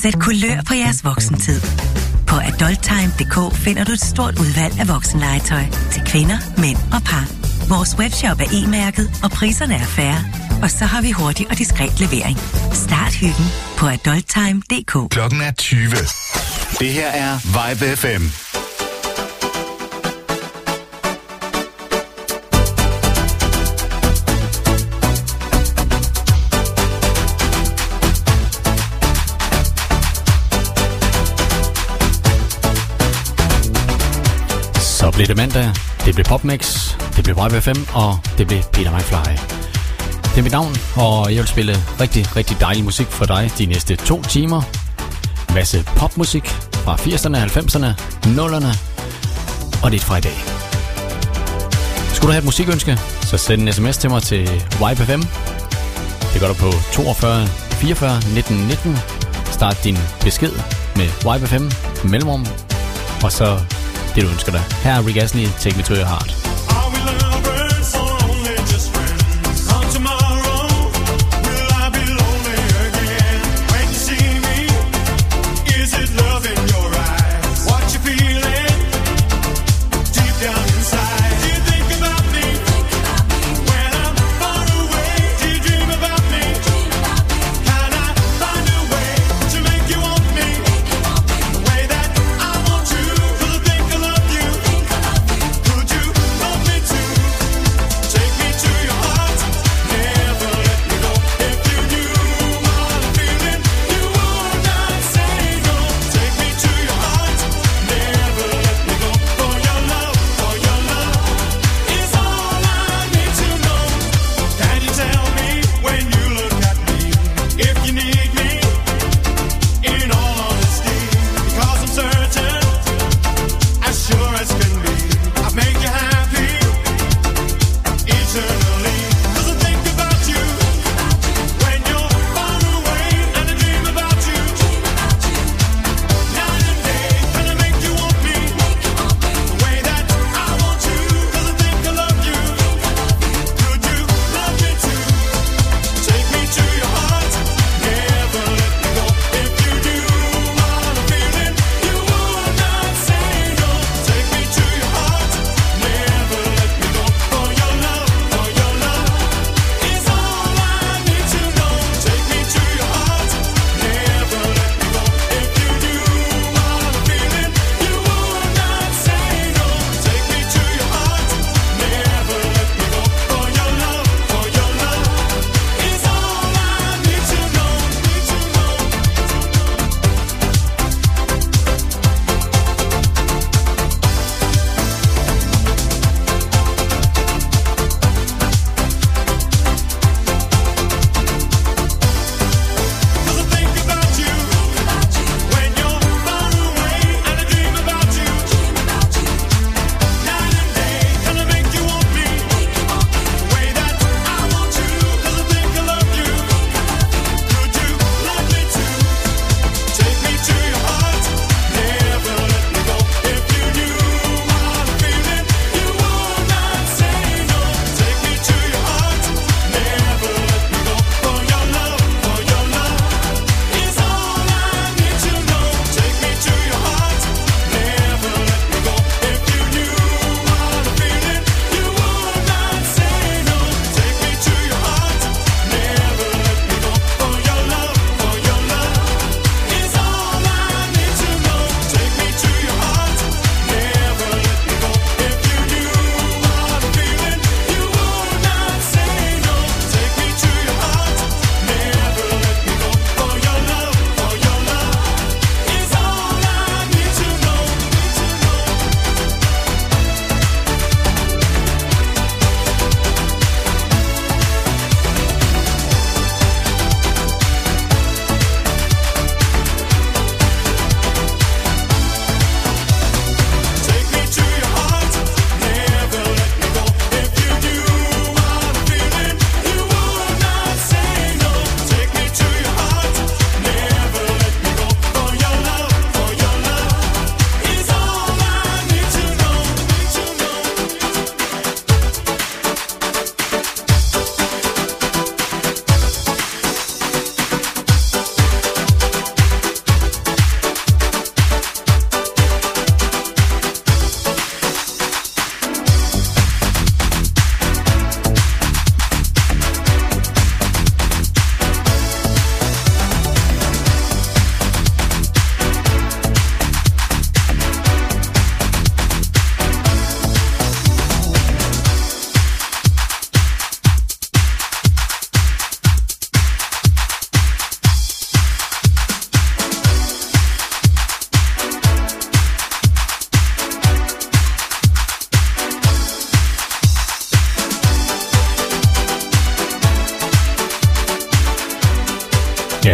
Sæt kulør på jeres voksentid. På adulttime.dk finder du et stort udvalg af voksenlegetøj til kvinder, mænd og par. Vores webshop er e-mærket, og priserne er fair. Og så har vi hurtig og diskret levering. Start hyggen på adulttime.dk. Klokken er 20. Det her er Vibe FM. Så blev det mandag, det blev PopMix, det blev Vibe FM, og det blev Peter McFly. Det er mit navn, og jeg vil spille rigtig, rigtig dejlig musik for dig de næste 2 timer. En masse popmusik fra 80'erne, 90'erne, 0'erne, og lidt fra i dag. Skulle du have et musikønske, så send en sms til mig til Vibe FM. Det gør du på 42 44 19 19. Start din besked med Vibe FM mellemrum, og så det du ønsker dig. Her er Rick Astley, Take Me To Your Heart. Could you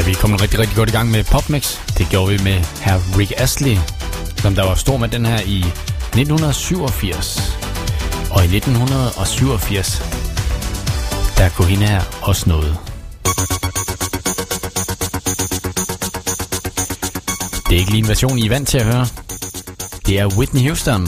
vi er kommet rigtig, rigtig godt i gang med PopMix. Det gjorde vi med hr. Rick Astley, som der var stor med den her i 1987. Og i 1987, der kunne hende her også noget. Det er ikke lige en version, I er vant til at høre. Det er Whitney Houston.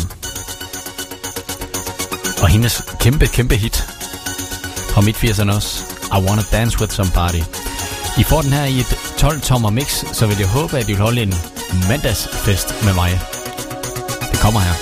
Og hendes kæmpe hit fra midt-80'erne også. I Wanna Dance With Somebody. I får den her i et 12-tommer mix, så vil jeg håbe, at I vil holde en mandagsfest med mig. Det kommer her.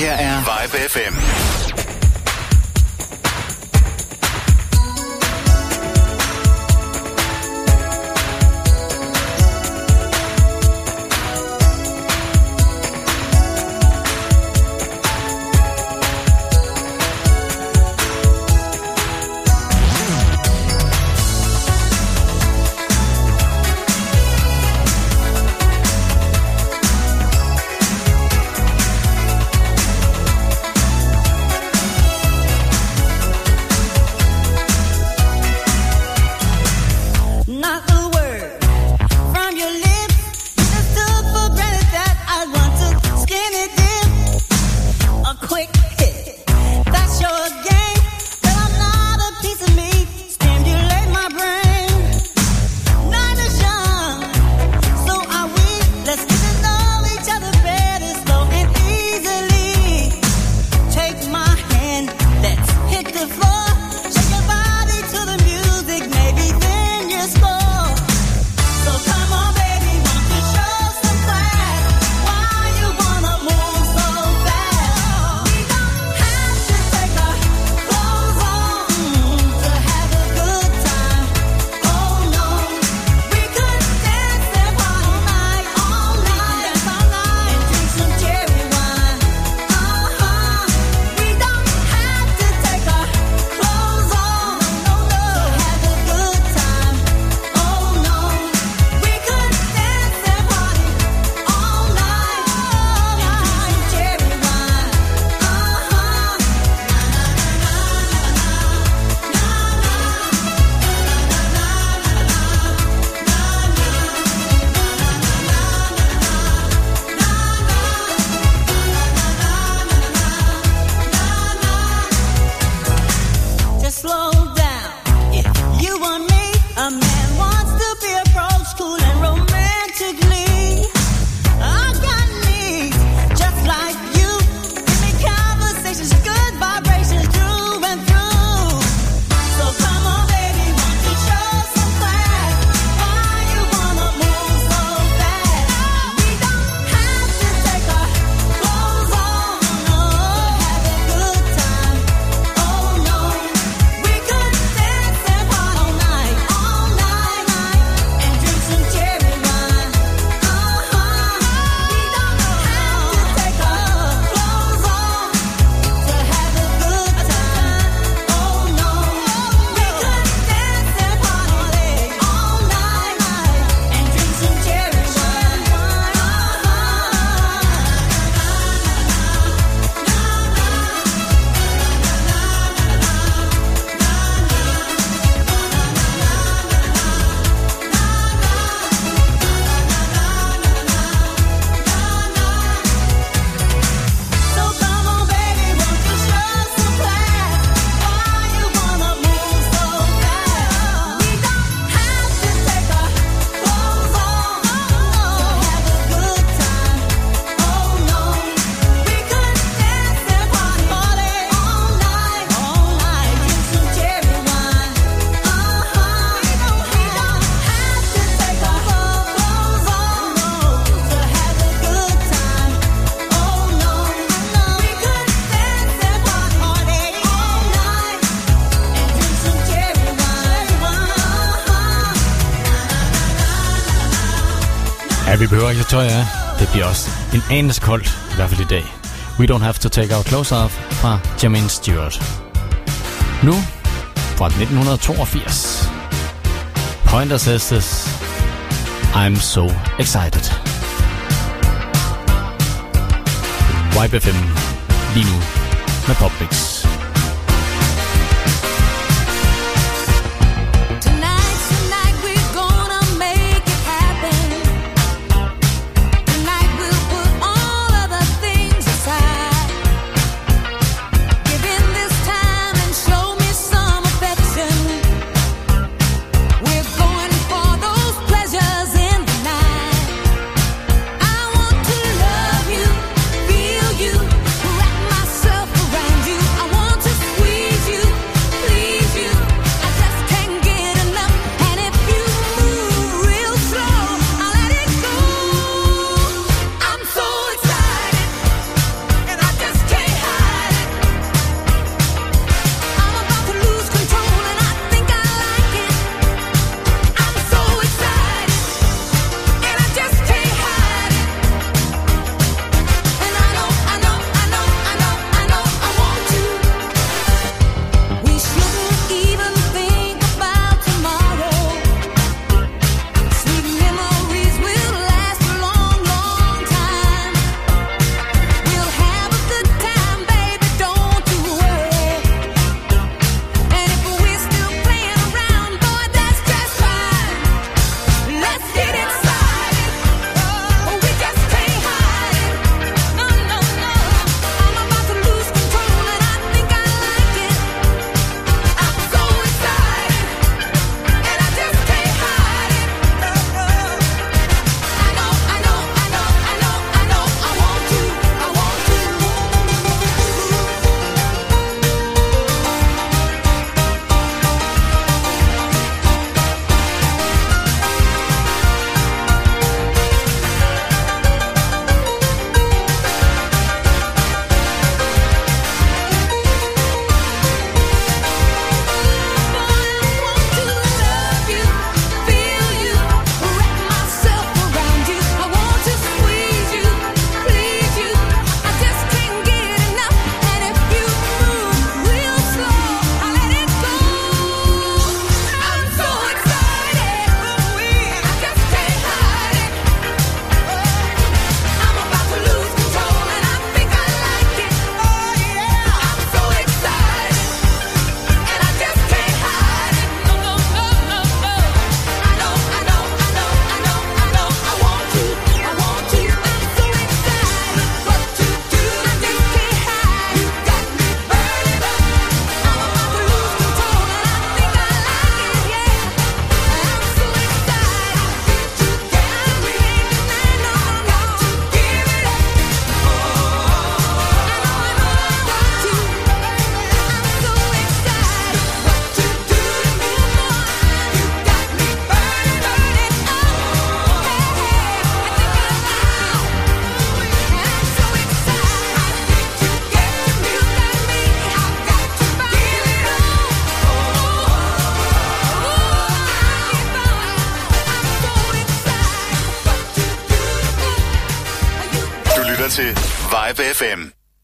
her er Vibe FM. Vi behøver ikke tøj af. Det bliver også en anelse koldt, i hvert fald i dag. We Don't Have to Take Our Clothes Off fra Jermaine Stewart. Nu fra 1982. Pointer Sisters, I'm So Excited. Vibe FM lige nu med PopMix. Myself around you, I want lytter til Vibe FM.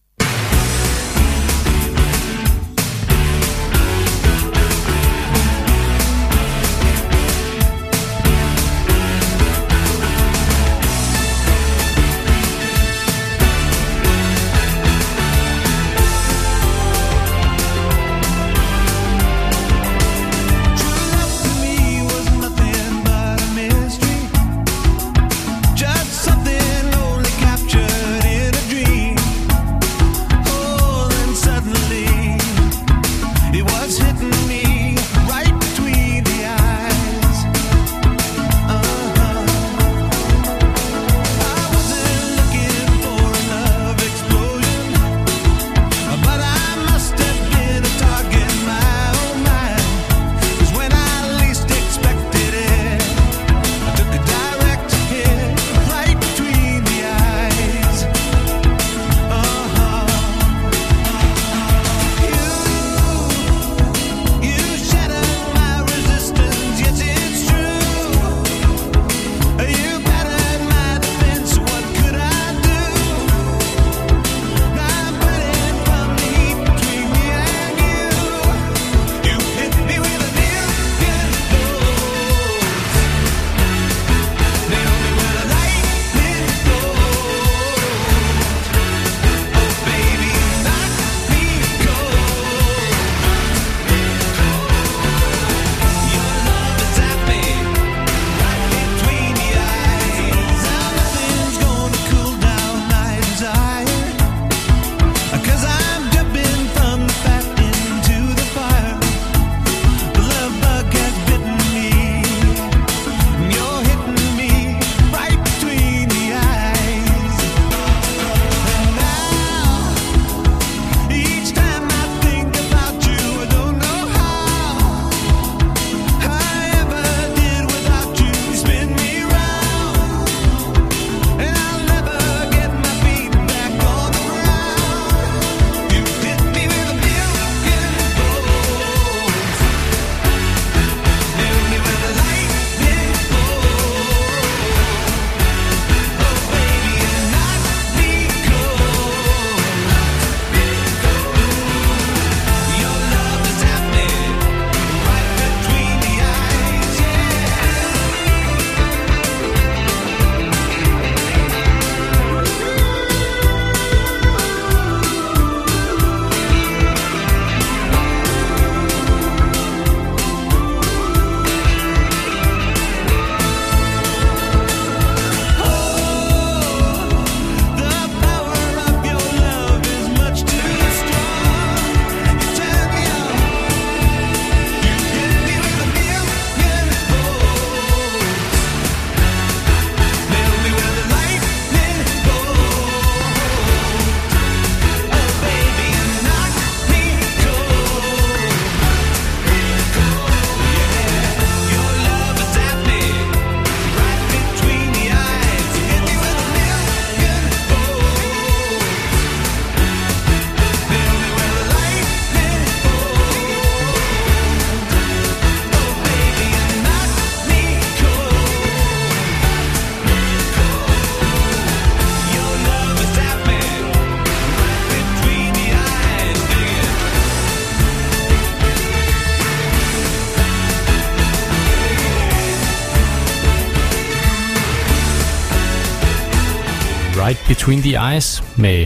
Right Between the Eyes med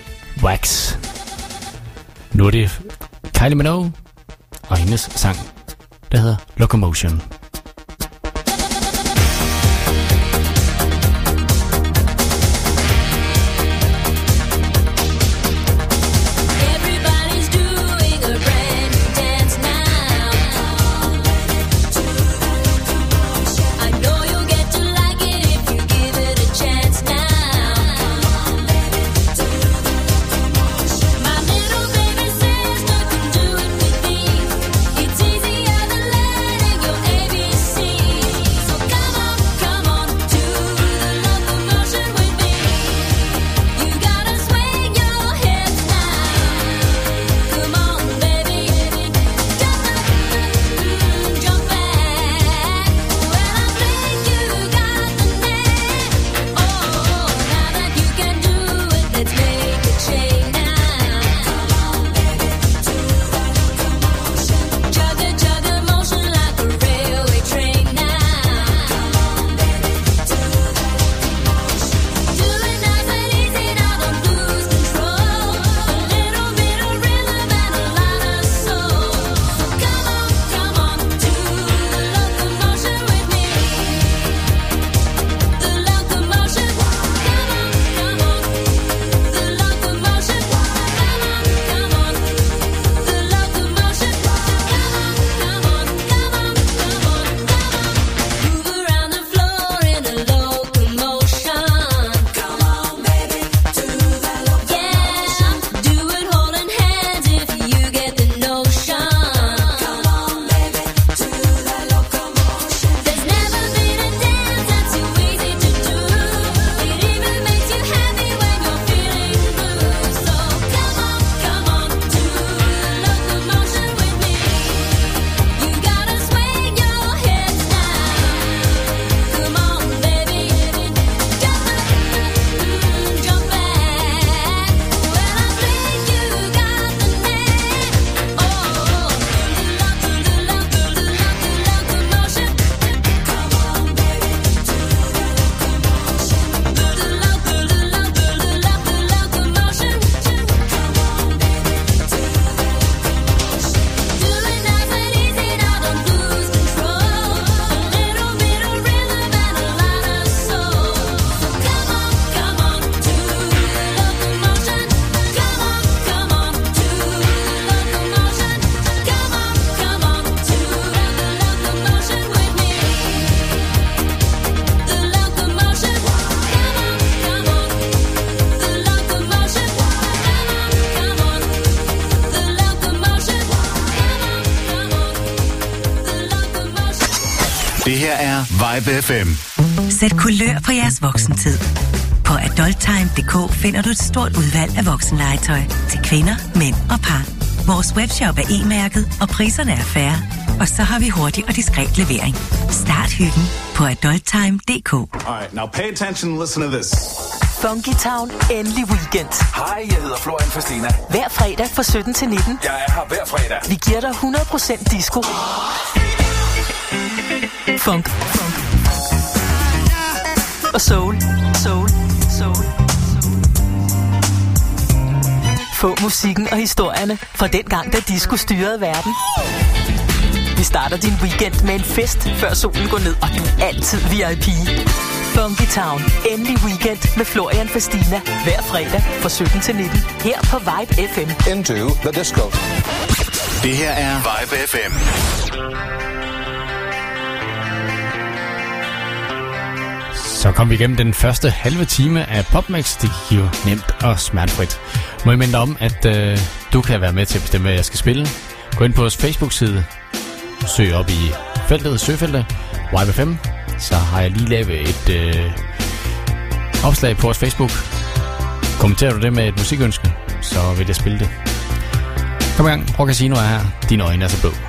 Wax. Nu er det Kylie Minogue og hendes sang, der hedder Locomotion. It's easier than letting your Det her er Vibe FM. Sæt kulør på jeres voksentid. På adulttime.dk finder du et stort udvalg af voksenlegetøj til kvinder, mænd og par. Vores webshop er e-mærket, og priserne er fair. Og så har vi hurtig og diskret levering. Start hyggen på adulttime.dk. Alright, now pay attention and listen to this. Funky Town, endelig weekend. Hej, jeg hedder Florian Fastina. Hver fredag fra 17 til 19. Jeg er her hver fredag. Vi giver dig 100% disco. Funk. Og soul. Få musikken og historierne fra den gang, da disco styrede verden. Vi starter din weekend med en fest, før solen går ned, og du er altid VIP. Funky Town, endelig weekend med Florian Fastina. Hver fredag fra 17 til 19. Her på Vibe FM. Into the disco. Det her er Vibe FM. Så kom vi igennem den første halve time af PopMix. Det gik jo nemt og smertefrit. Må jeg minde dig om, at du kan være med til at bestemme, hvad jeg skal spille. Gå ind på vores Facebook-side. Søg op i søgefeltet Vibe FM. Så har jeg lige lavet et opslag på vores Facebook. Kommenterer du det med et musikønske, så vil jeg spille det. Kom i gang, Rock Casino er her. Dine øjne er så blå.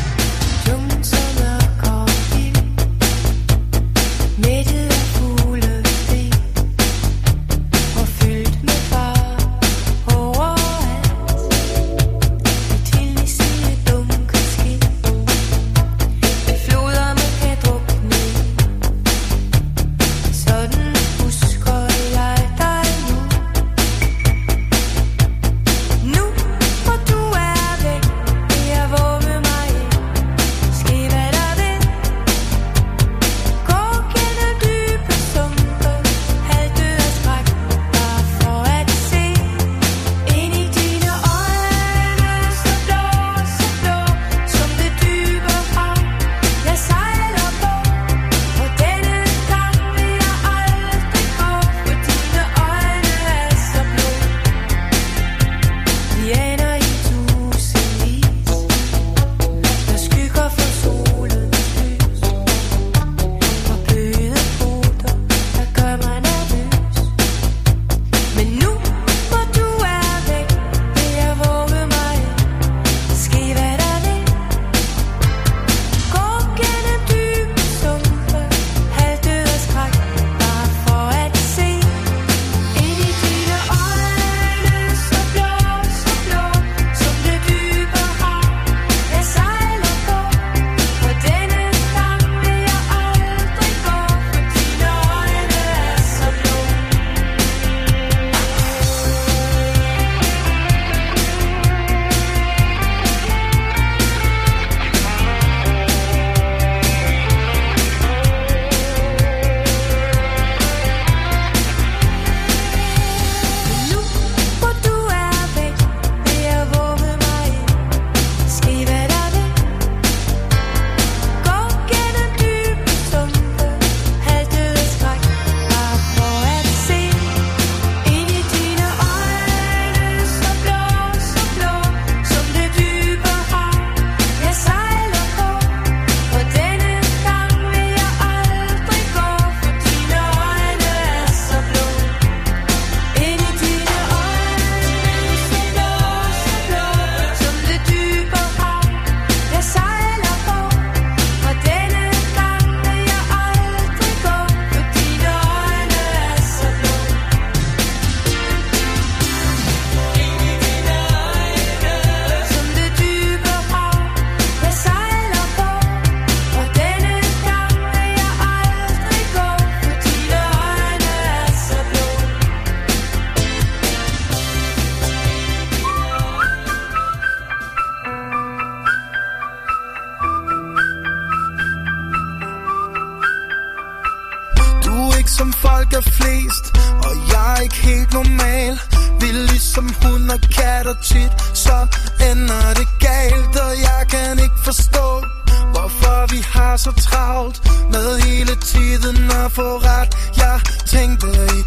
som folk er flest, og jeg er ikke helt normal. Vi er ligesom hund og kat, og tit så ender det galt. Og jeg kan ikke forstå, hvorfor vi har så travlt med hele tiden at få ret. Jeg tænkte i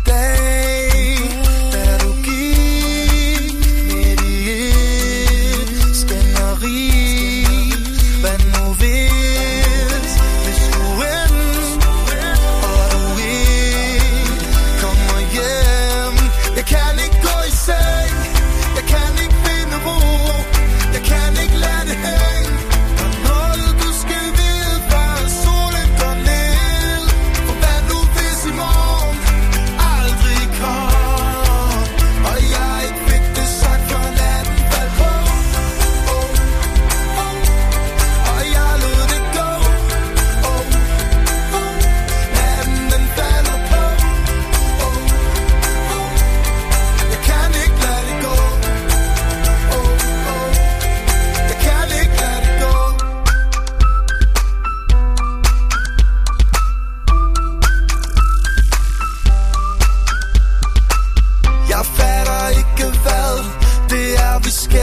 dag, da du gik midt i et skænderi. Hvad nu hvis vi skulle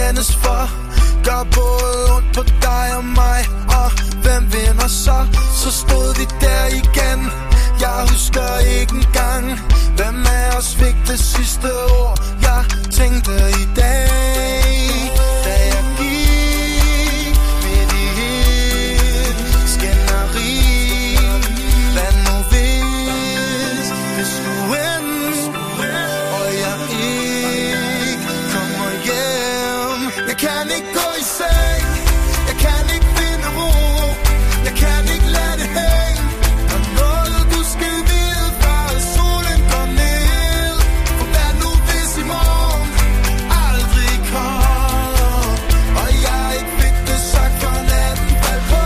brændes for. Gør både ondt på dig og mig. Og hvem vinder så? Så stod vi der igen. Jeg husker ikke engang, hvem af os fik det sidste ord. Jeg tænkte i dag, da jeg gik midt i et skænderi. Hvad nu hvis det skulle ende, og jeg ikke kommer hjem. Jeg kan ikke gå i seng, jeg kan ikke finde ro, jeg kan ikke lade det hænge. Og noget du skal vide, før solen går ned. For hvad nu hvis i morgen aldrig kom, og jeg ikke fik det sagt, for natten faldt på.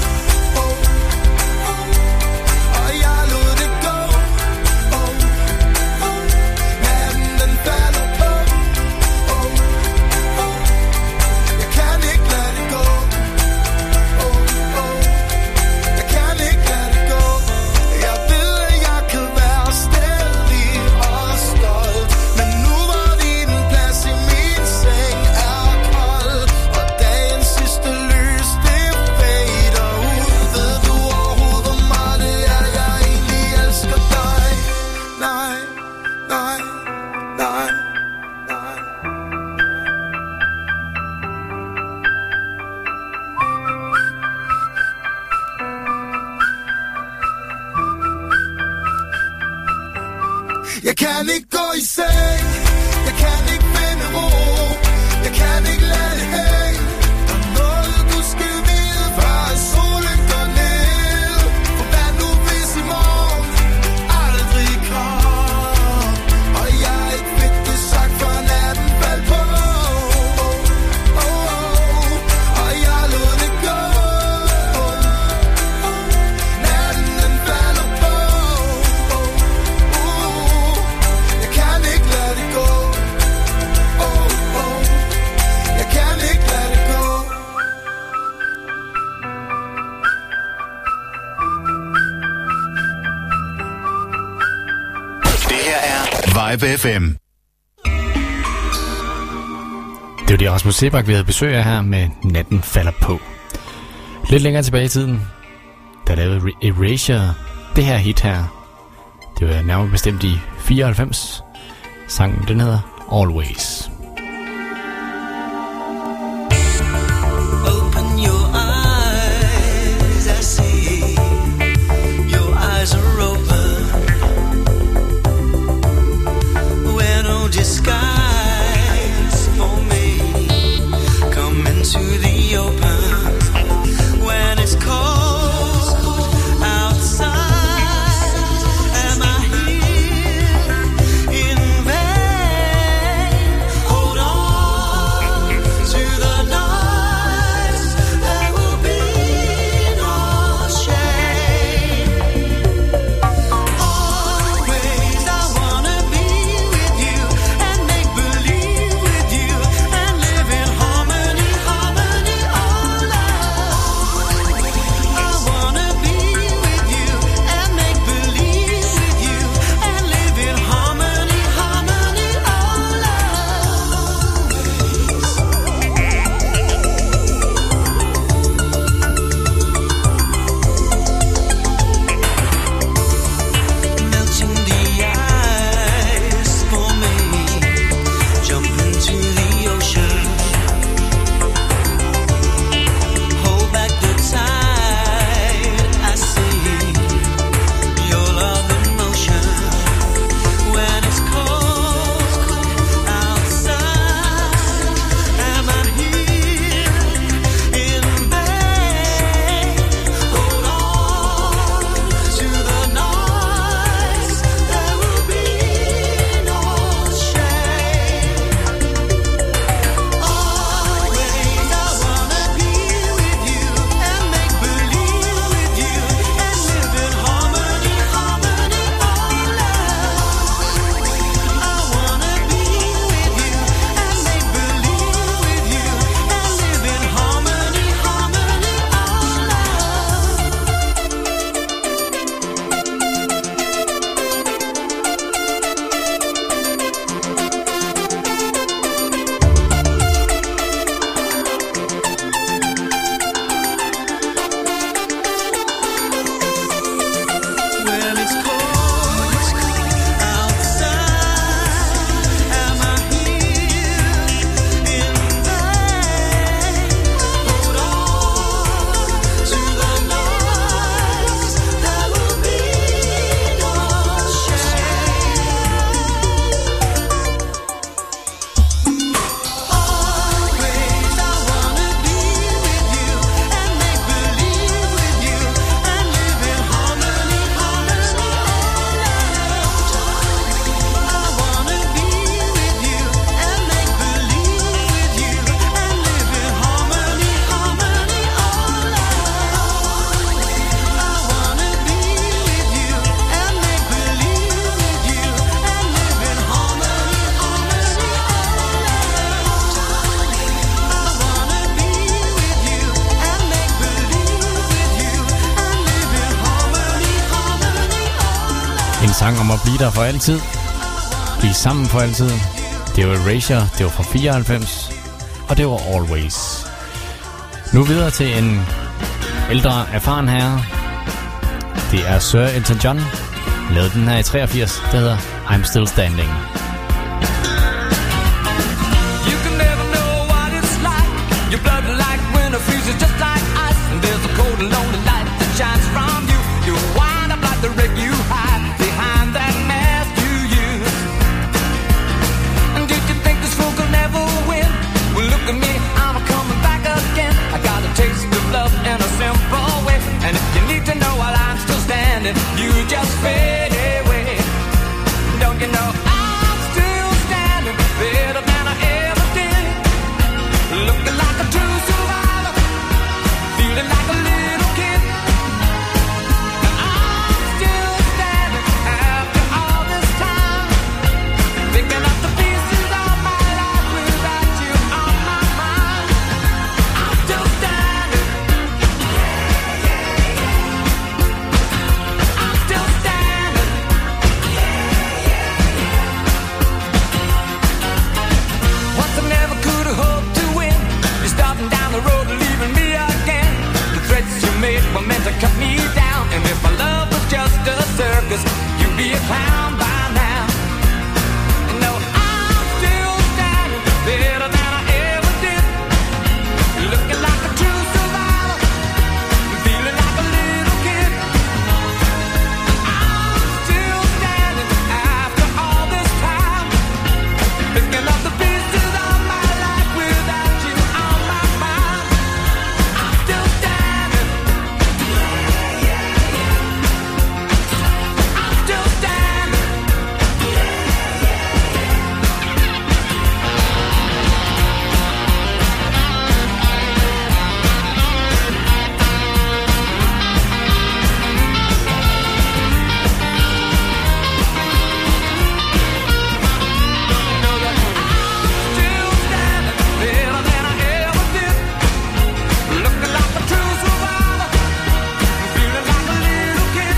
Og jeg lod det gå. Natten den falder på. Jeg kan ikke lade det gå. Jeg kan ikke lade det gå. Jeg ved, at jeg kan være stædig og stolt, men nu var din plads i min seng er kold. Og dagens sidste lys, det fader ud. Ved du overhovedet, hvor meget det er, jeg egentlig elsker dig? Nej, nej, nej, nej. Jeg kan ikke gå i seng, jeg kan ikke finde ro, jeg kan ikke lade det hænge. Der er noget du skal vide, før solen går ned. For hvad nu hvis i morgen aldrig kom, og jeg ikke fik det sagt, før natten faldt på. Og jeg lod det gå. Natten den falder på. Jeg kan ikke lade det gå. Jeg kan ikke lade det gå. Det her er Vibe FM. Det var det Rasmus Sebak, vi havde besøg af her med Natten falder på. Lidt længere tilbage i tiden, der lavede Erasure det her hit her. Det var nærmere bestemt i 94. Sangen, den hedder Always. Open your eyes, I see. Your eyes are open. Wear no disguise for me. Come into the open. When it's cold outside, am I here in vain? sang om at blive der for altid. Blive sammen for altid. Det var Erasure, det var fra 94, og det var Always. Nu videre til en ældre, erfaren herre. Det er Sir Elton John. Lavede den her i 83, der hedder I'm Still Standing. You can never know what it's like. Your blood like winter freezes just like ice. And there's a cold and lonely light that shines from you. You wind up like the wreck you hide behind that mask you use. And did you think this fool could never win? Well, look at me, I'm coming back again. I got a taste of love in a simple way. And if you need to know while I'm still standing, you just fade away. Don't you know I'm still standing better than I ever did? Looking like a true survivor, feeling like a little kid. I'm still standing after all this time, picking up the pieces of my life without you on my mind. I'm still standing. I'm still standing. Once I never could have hoped to win. You're starting down the road and leaving me again. The threats you made were meant to cut me down. And if my love was just a circus, you'd be a clown by now. And no, I'm still standing better than I ever did. Looking like a true survivor, feeling like a little kid. I'm still standing after all this time, picking up the pieces of my life without you on my mind. I'm still standing. I'm still standing. Still standing better than I ever did. Looking like a true survivor, feeling like a little kid.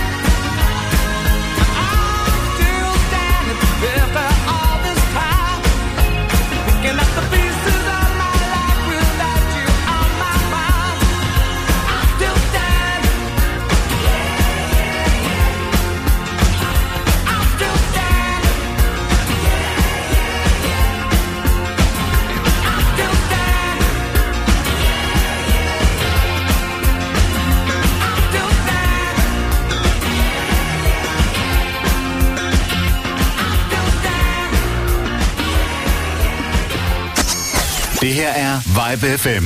I'm still standing after all this time, picking up the pieces of my life without you on my mind. I'm still standing. I'm still standing. I'm still standing. Det her er Vibe FM.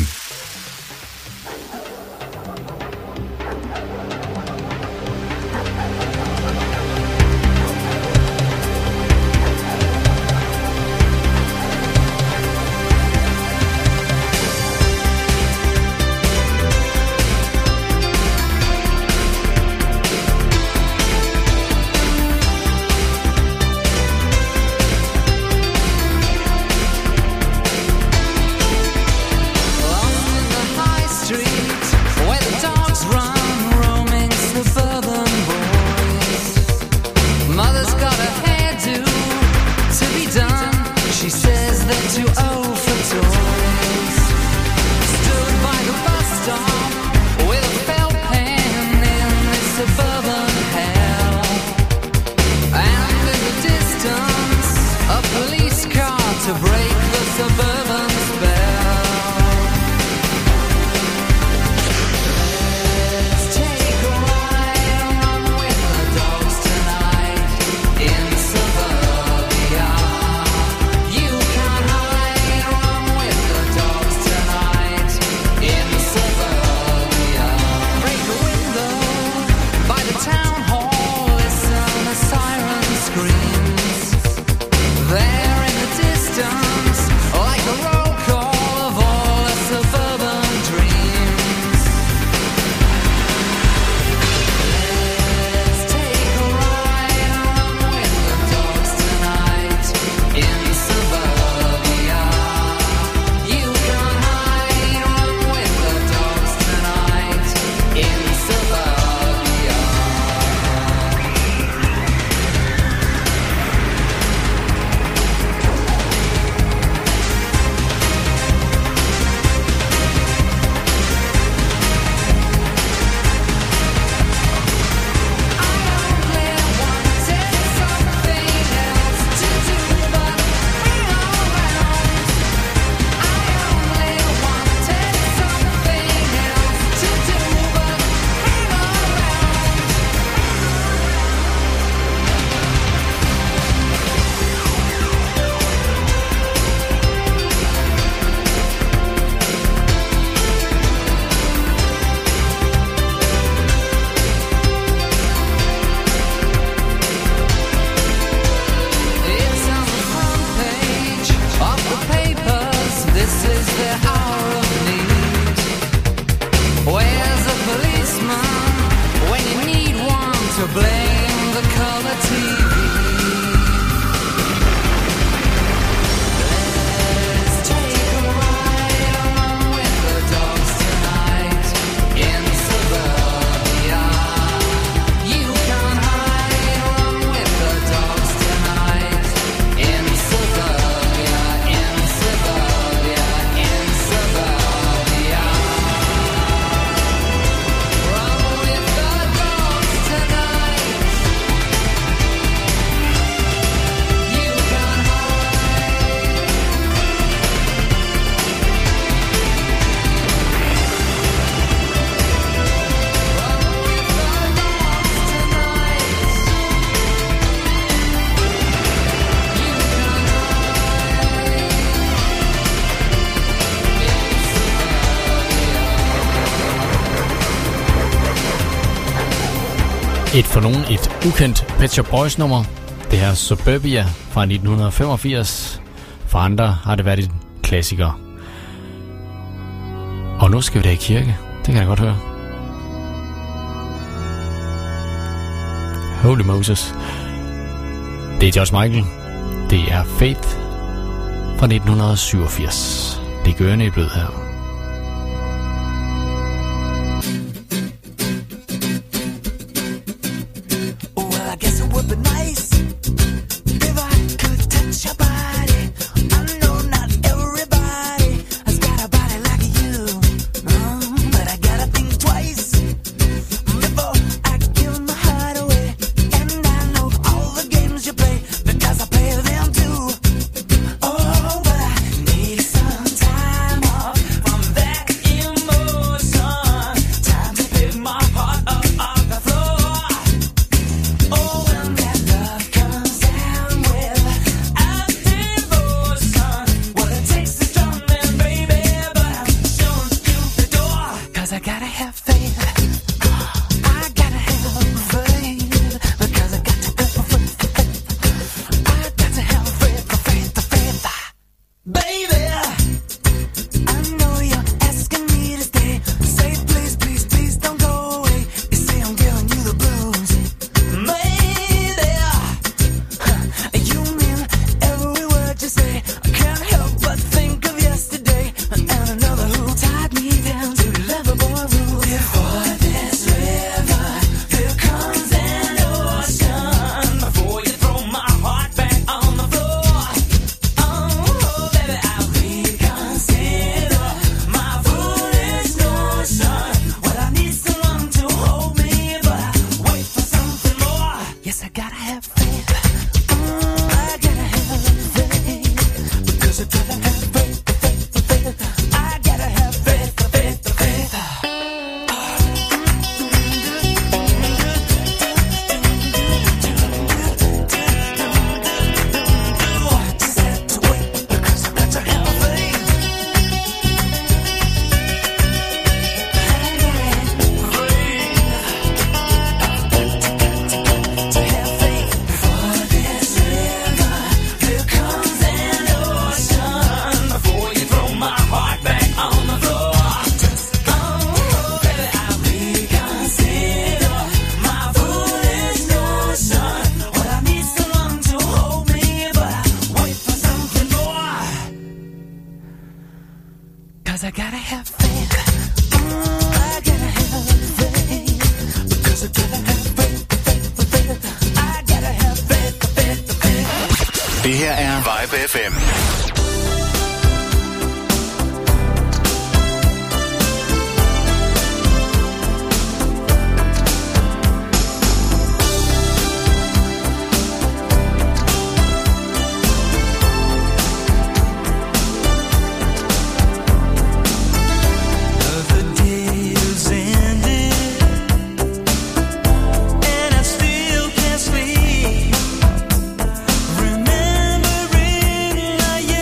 There in the distance, like For nogen et ukendt Pet Shop Boys nummer. Det her Suburbia fra 1985. For andre har det været en klassiker. Og nu skal vi da i kirke. Det kan jeg godt høre. Holy Moses. Det er George Michael. Det er Faith fra 1987. Det gør i blød her. Det her er Vibe FM. Yeah.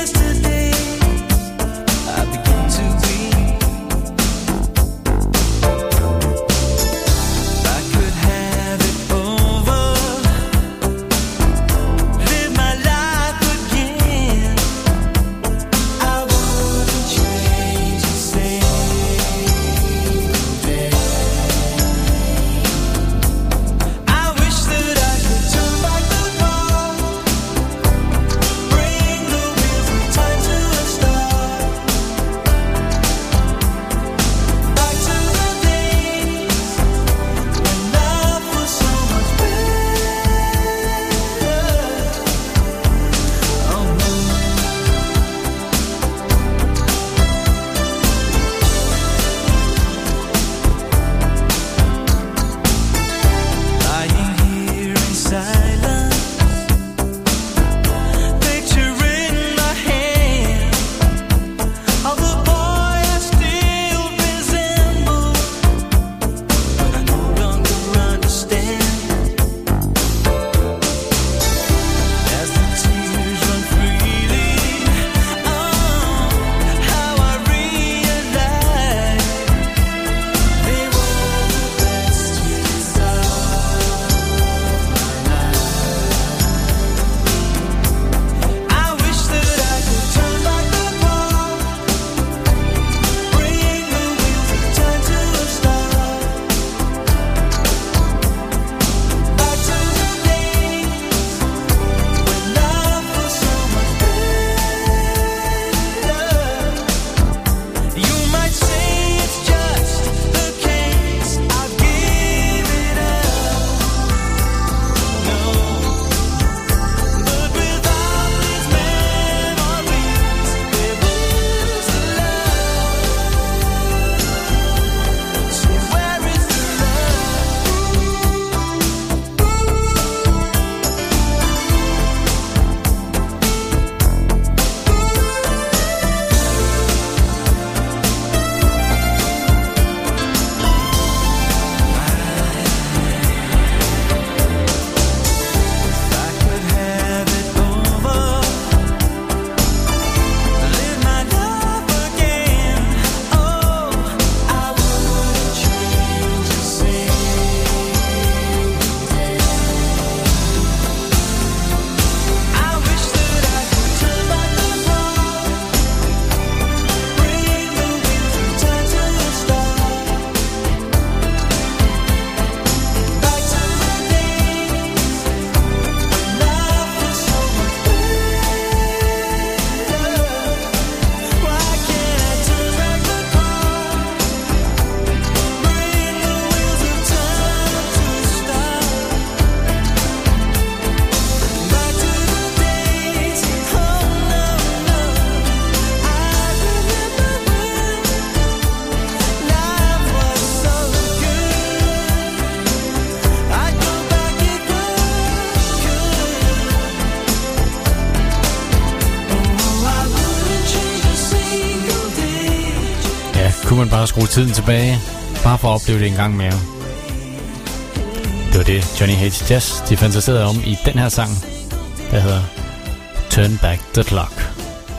kunne man bare skrue tiden tilbage, bare for at opleve det en gang mere. Det var det, Johnny Hates Jazz, de fantaserede om i den her sang, der hedder Turn Back the Clock.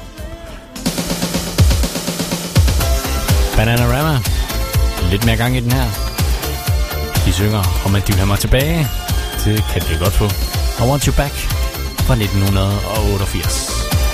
Bananarama, lidt mere gang i den her. De synger om, at de vil have mig tilbage. Det kan de godt få. I Want You Back fra 1988.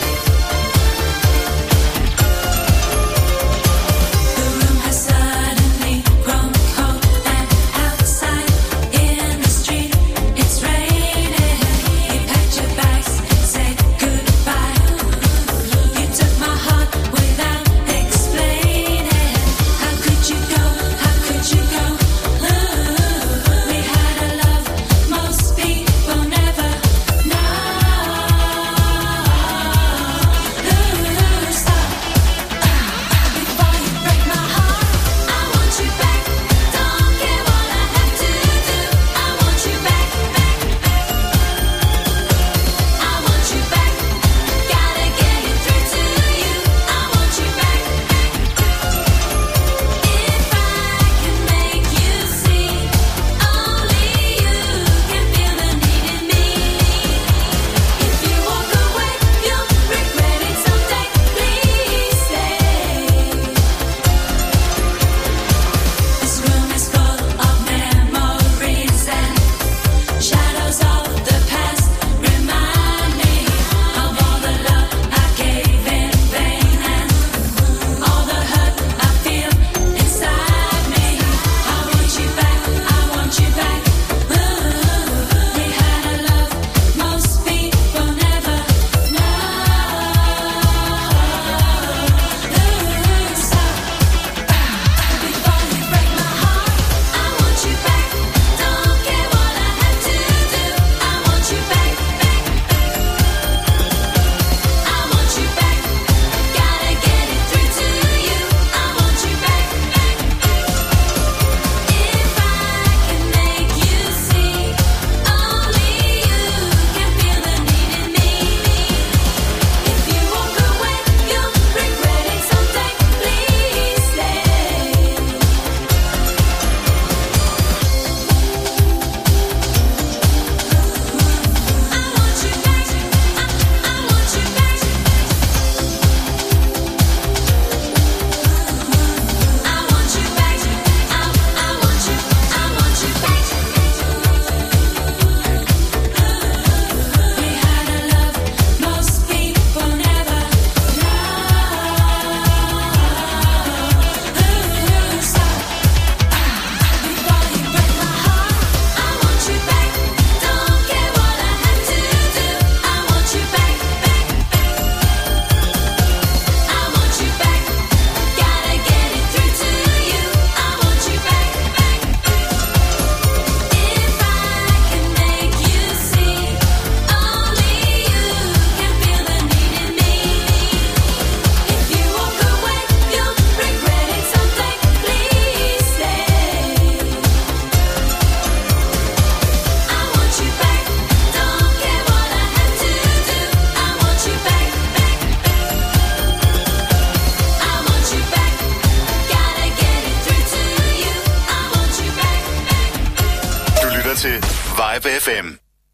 til Vibe FM.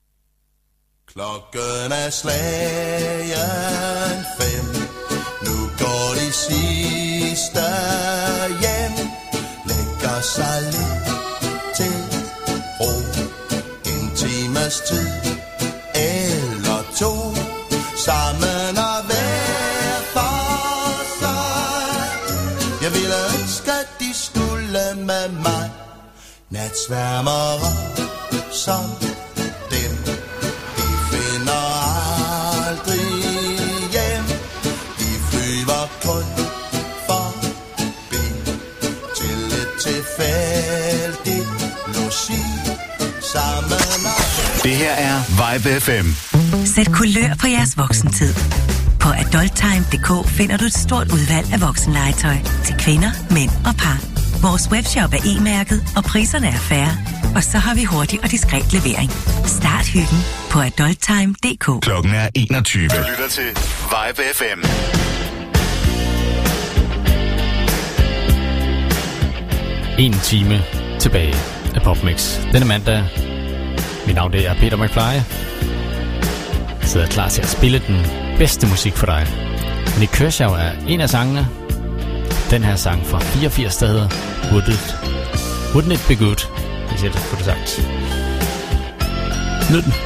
Klokken er slagen 5. Nu går de sidste hjem. Lægger sig lidt til ro. En times tid eller to. Sammen og hver for sig. Jeg ville ønske, de skulle med mig. Natsværmere som dem. De finder aldrig hjem. De flyver kun forbi til et tilfældigt logi. Sammen og det her er Vibe FM. Sæt kulør på jeres voksentid. På adulttime.dk finder du et stort udvalg af voksenlegetøj til kvinder, mænd og par. Vores webshop er e-mærket, og priserne er fair. Og så har vi hurtig og diskret levering. Start hyggen på adulttime.dk. Klokken er 21. Du lytter til Vibe FM. 1 time tilbage af PopMix. Denne mandag. Mit navn det er Peter McFly. Jeg sidder klar til at spille den bedste musik for dig. Nik Kershaw er en af sangene. Den her sang fra 84, der hedder Wouldn't It Be Good? Hvis jeg får det sagt. Nyd den.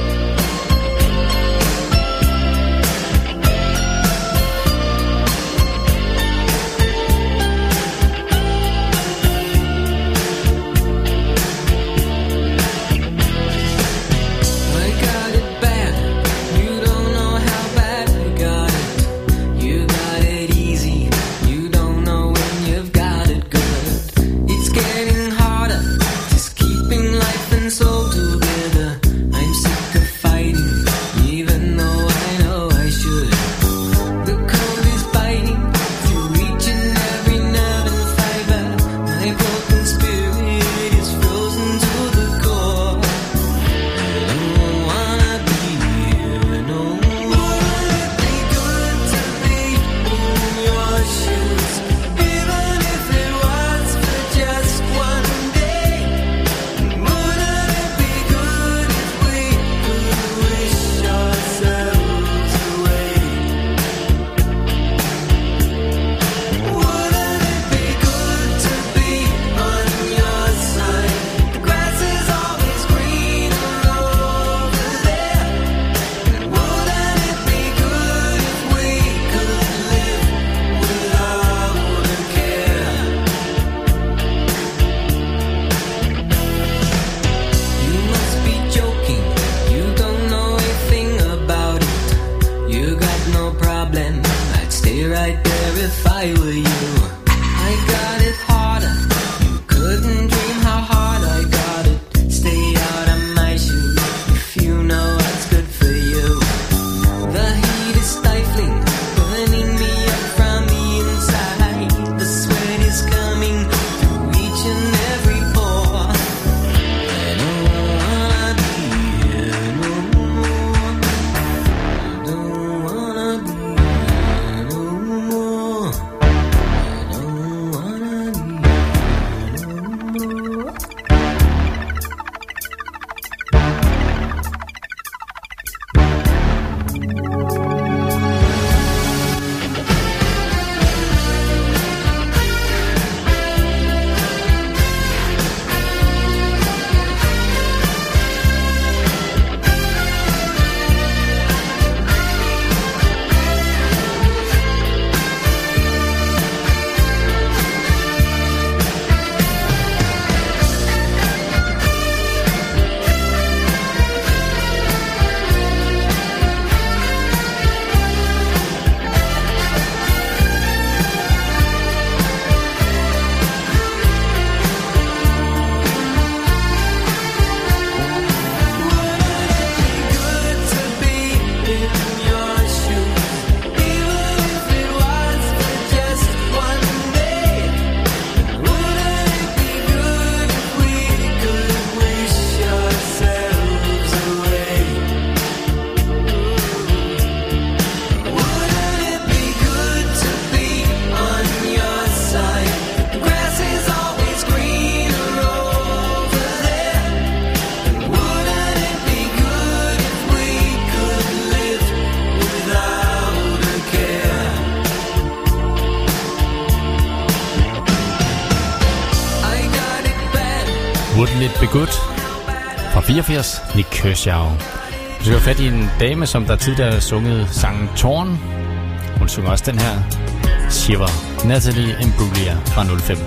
Wouldn't It Be Good fra 84, Nik Kershaw. Du skal have fat i en dame, som der tidligere har sunget sangen Torn. Hun synger også den her, Shiver, Natalie Imbruglia fra 05.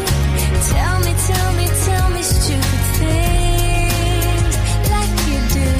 Tell me stupid things like you do.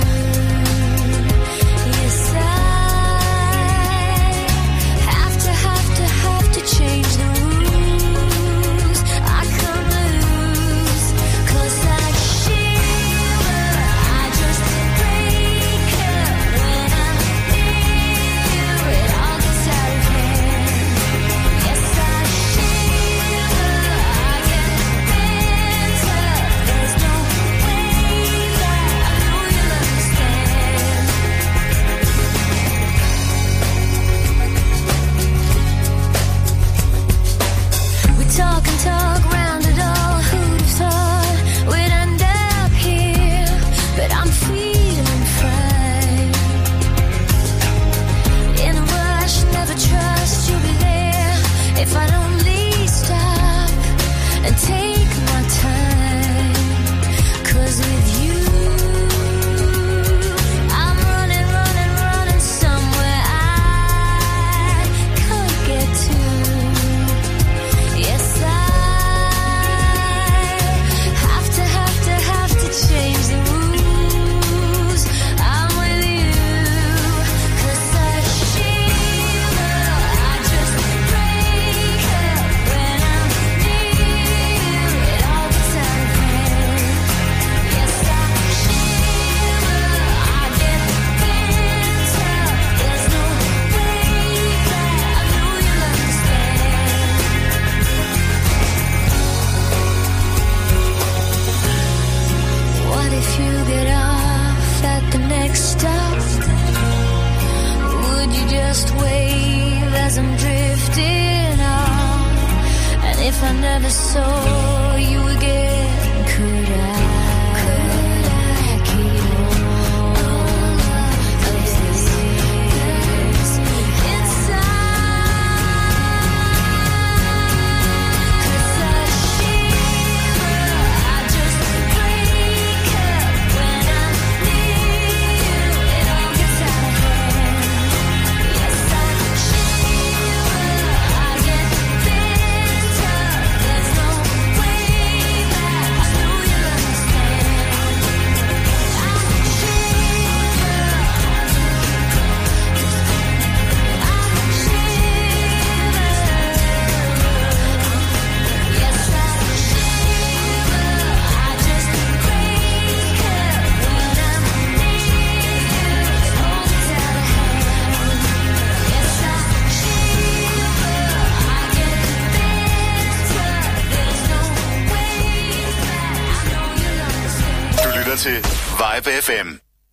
til Vibe FM.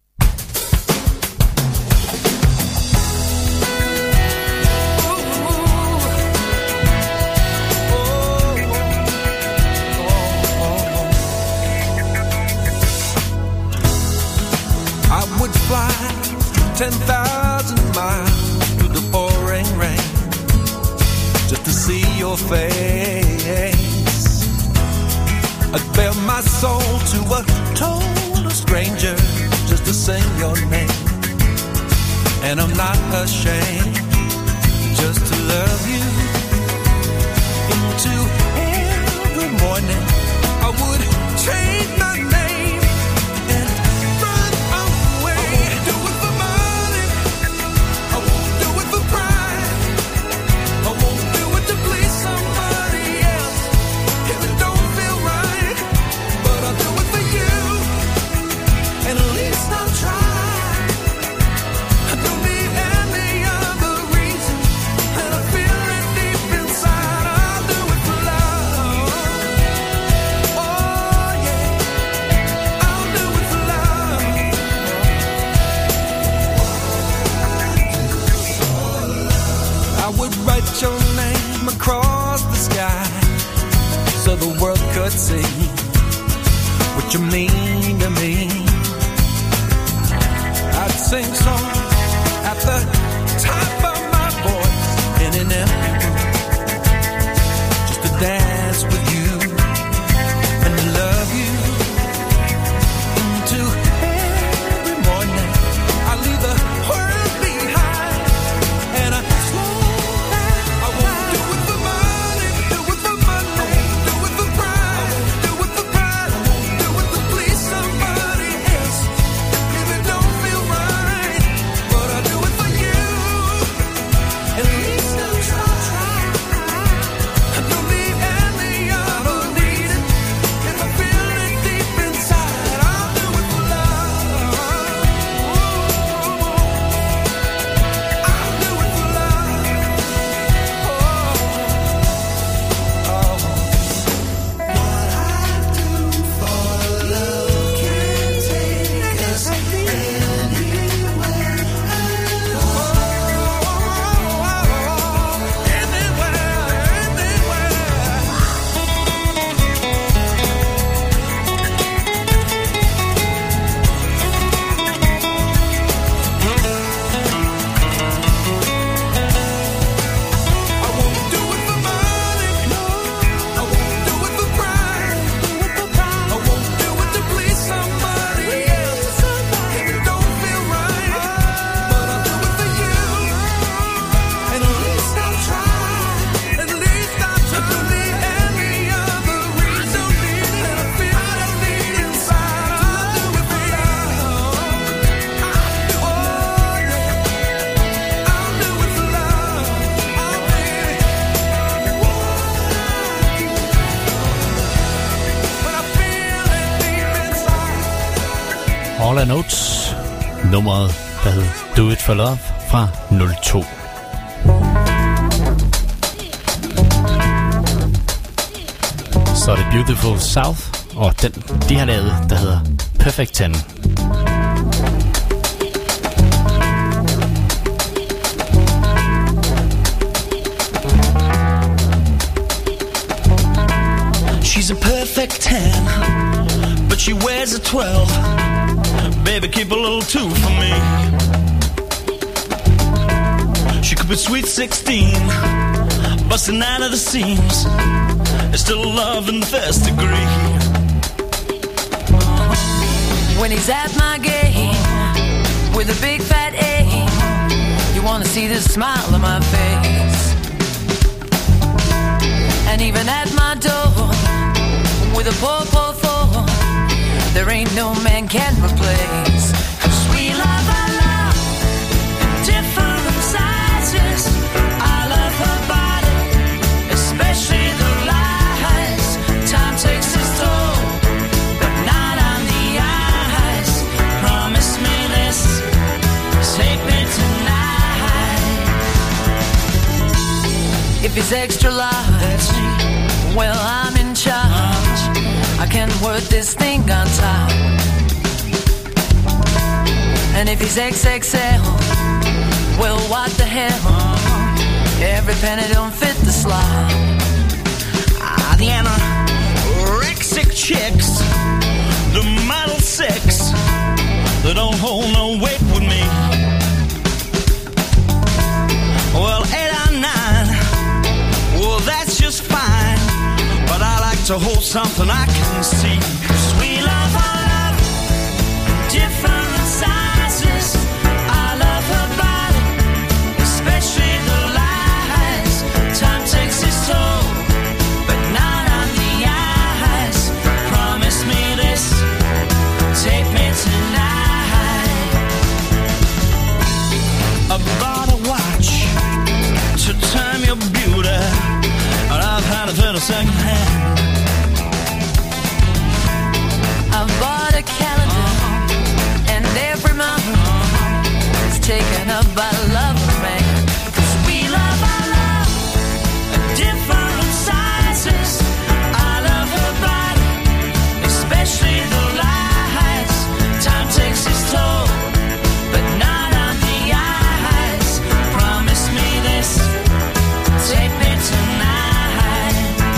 I would fly 10,000 miles through the pouring rain just to see your face. I'd bare my soul to a total stranger just to sing your name. And I'm not ashamed just to love you. Into every morning I would change my name and run away. I won't do it for money, I won't do it for pride, I won't do it to please somebody else if it don't feel right. But I'll do it for you, and at least I'll try. I don't need any other reason, and I feel it deep inside. I'll do it for love. Oh yeah, I'll do it for love. I would write your name across the sky so the world could see what you mean to me. I'd sing songs at the top of my voice in an empty room just to dance with you and love you. Into every morning I leave the world behind and I slow down. I won't do it for money, do it for money. I won't do it for pride, do it for pride. I won't do it to please Hall & Oates. Nummeret, der hed Do It For Love fra 02. Så er det Beautiful South, og den de har lavet, der hedder Perfect 10. She's a perfect 10, but she wears a 12. Baby, keep a little 2 for me. She could be sweet 16, busting out of the seams. There's still love in the first degree. When he's at my gate with a big fat A, you wanna see the smile on my face. And even at my door with a poor, poor four, there ain't no man can replace. 'Cause we love our love in different sizes. I love her body, especially the lies. Time takes its toll, but not on the eyes. Promise me this, take me tonight. If it's extra large, well, I'm in charge. I can work this thing on top. And if he's XXL, well, what the hell? Every penny don't fit the slot. The anorexic chicks, the model 6, they don't hold no weight with me. Well, 8 or 9, well, that's just fine. But I like to hold something I can see. 'Cause we love our love in different sizes. I love her body, especially the lies. Time takes its toll, but not on the eyes. Promise me this, take me tonight. I bought a watch to time your beauty, and I've had it for the second hand. I've bought a calendar, and every month is taken up by love, man. 'Cause we love our love in different sizes. I love her body, especially the lies. Time takes its toll, but not on the eyes. Promise me this, take me tonight.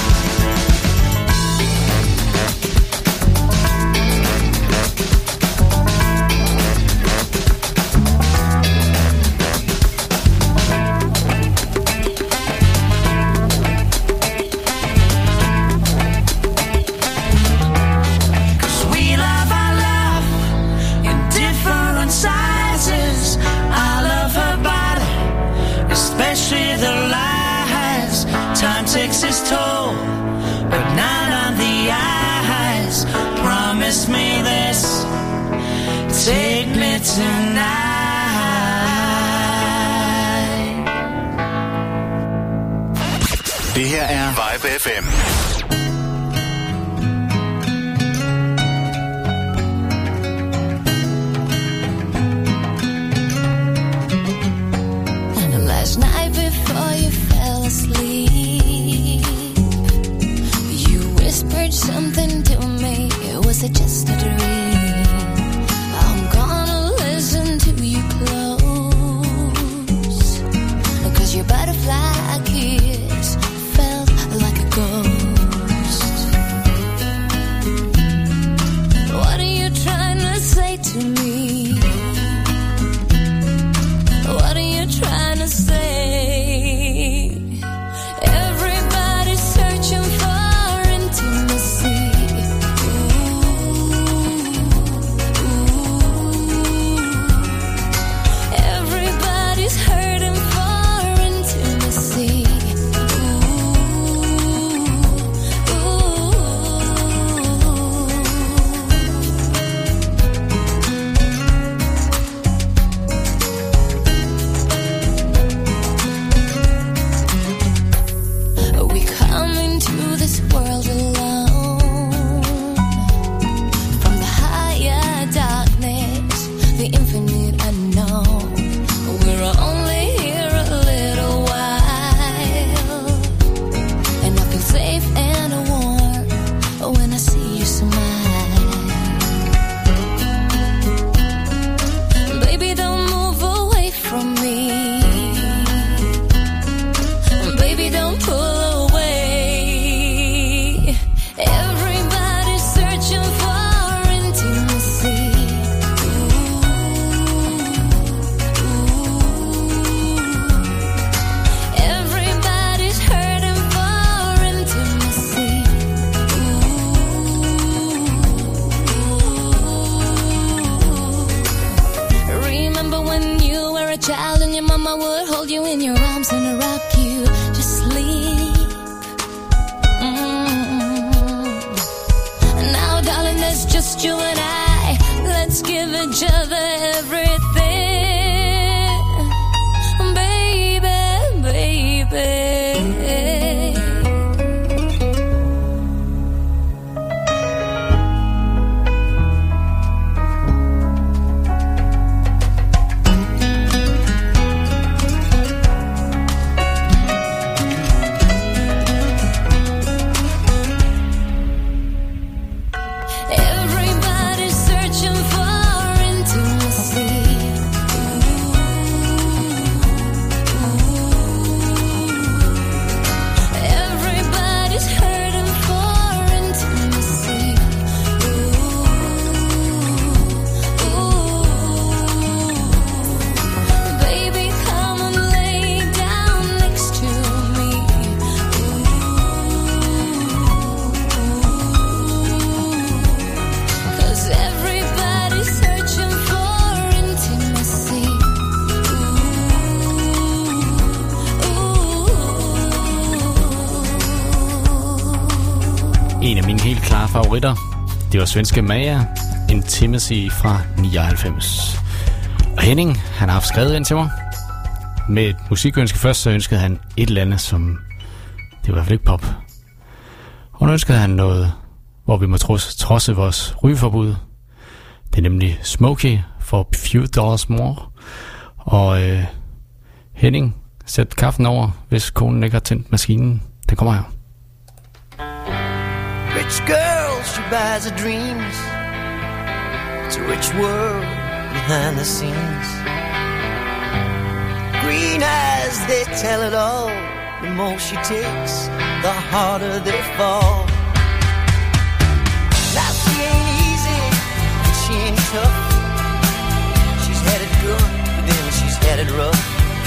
Takes its toll, but not on the eyes. Promise me this, take me tonight. Det her er Vibe FM. Last night before you fell asleep, you whispered something to me. Was it just a dream? I'm gonna listen to you close, 'cause your butterfly kiss felt like a ghost. What are you trying to say to me? What are you trying to say? Everybody's searching for intimacy. Ooh. there's just you and I. Let's give each other everything, baby, baby. En af mine helt klare favoritter, det var svenske Maja, Intimacy fra 99. Og Henning, han har haft skrevet ind til mig. Med et musikønske først, så ønskede han et eller andet, som det var i hvert fald ikke pop. Og nu ønskede han noget, hvor vi må trodse vores rygeforbud. Det er nemlig Smokey for Few Dollars More. Og Henning, sæt kaffen over, hvis konen ikke har tændt maskinen. Den kommer her. Rich girl, she buys her dreams. It's a rich world behind the scenes. Green eyes, they tell it all. The more she takes, the harder they fall. Now she ain't easy, and she ain't tough. She's had it good, but then she's had it rough.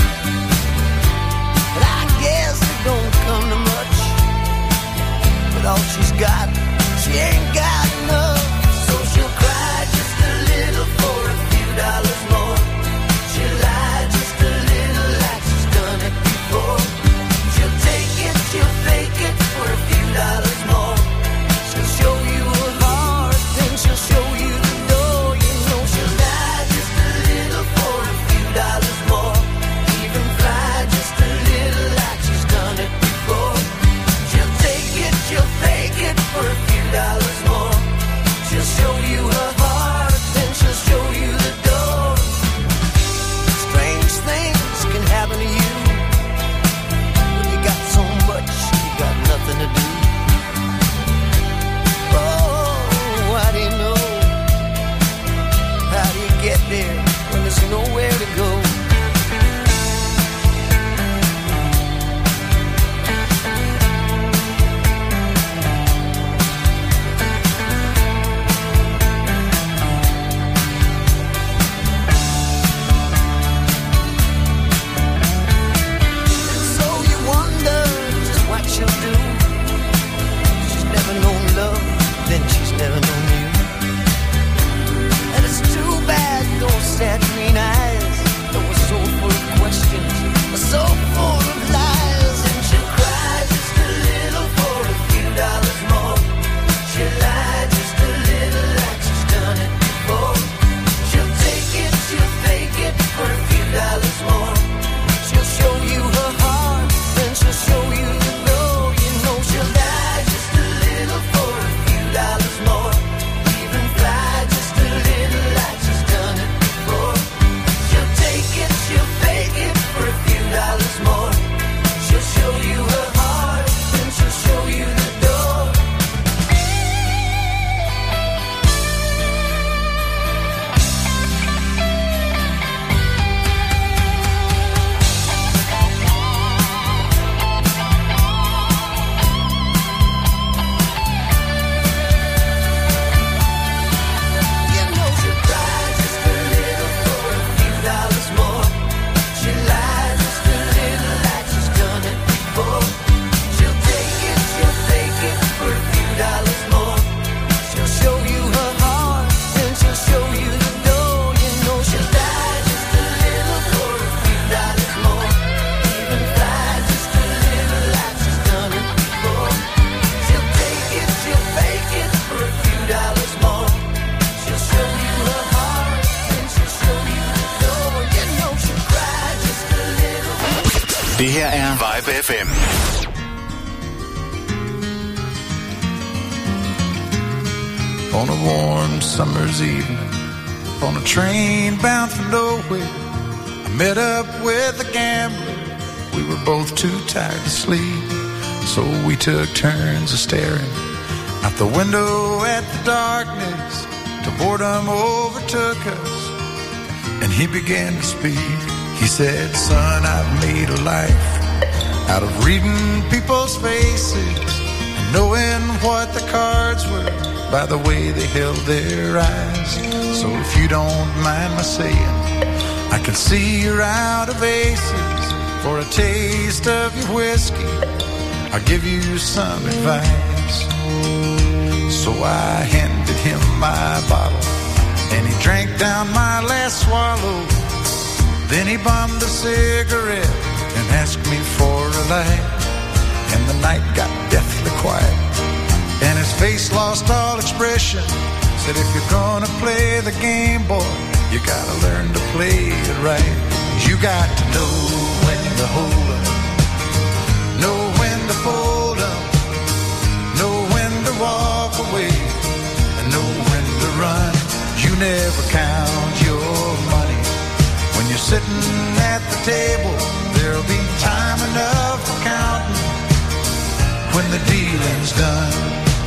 And I guess it don't come to much. With all she's got, she ain't got enough. So she'll cry just a little for a few dollars more. She'll lie just a little like she's done it before. She'll take it, she'll fake it for a few dollars more. Det her er Vibe FM. On a warm summer's evening, on a train bound for nowhere, I met up with a gambler. We were both too tired to sleep, so we took turns of staring out the window at the darkness till boredom overtook us, and he began to speak. He said, "Son, I've made a life out of reading people's faces and knowing what the cards were by the way they held their eyes. So if you don't mind my saying, I can see you're out of aces. For a taste of your whiskey, I'll give you some advice." So I handed him my bottle, and he drank down my last swallow. Then he bummed a cigarette and asked me for a light. And the night got deathly quiet, and his face lost all expression. Said, "If you're gonna play the game, boy, you gotta learn to play it right. You got to know when to hold up, know when to fold up, know when to walk away, and know when to run. You never count your money when you're sitting at the table. There'll be time enough for counting when the dealing's done."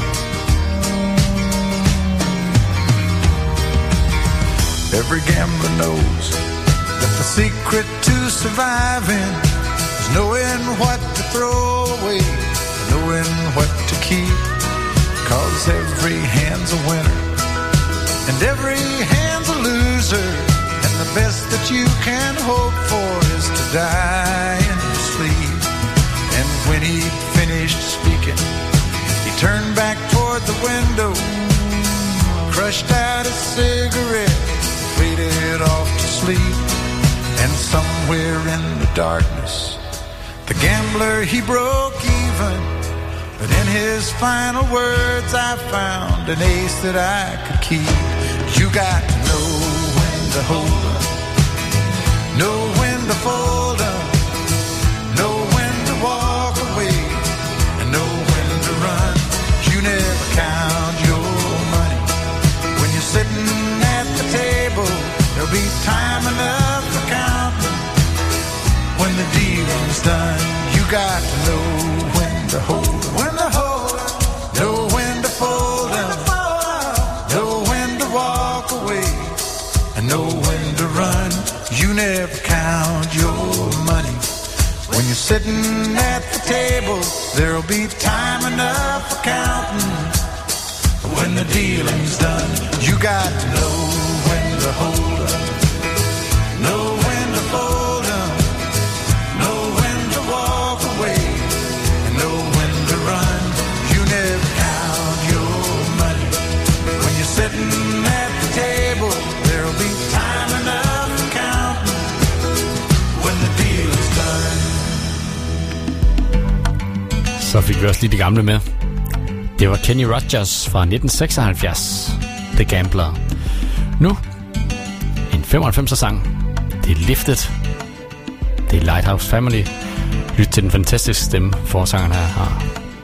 Every gambler knows that the secret to surviving is knowing what to throw away, knowing what to keep. 'Cause every hand's a winner and every hand's a loser, and the best that you can hope for is to die in your sleep. And when he finished speaking, he turned back toward the window, crushed out a cigarette, faded off to sleep. And somewhere in the darkness, the gambler, he broke even. But in his final words, I found an ace that I could keep. You got to know when to hold up, know when to fold up, know when to walk away, and know when to run. You never count your money when you're sitting at the table. There'll be time enough for counting when the dealing's done. You got to know when to hold up, when to hold up, know when to fold up, know when to walk away, and know when to run. You never count your money when you're sitting at the table. There'll be time enough for counting when the dealing's done. You got to know when to hold up, know when to fold up, know when to walk away, and know when to run. You never count your money when you're sitting at the table. There'll be time enough for counting when the deal is done. Så fik vi også lige de gamle med. Det var Kenny Rogers fra 1976, The Gambler. Nu, en 95'er sang. Det er Lifted. Det er Lighthouse Family. Lyt til den fantastiske stemme, forsangeren her har.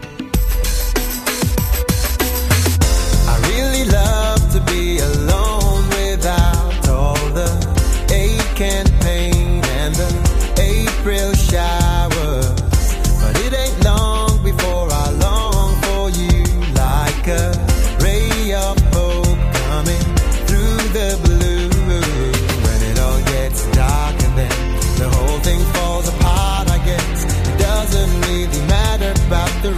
I really love to be alone without all the ache and pain and the April showers. But it ain't long before I long for you, like a ray of hope coming through the blue. When it all gets dark and then the whole thing falls apart, I guess it doesn't really matter about the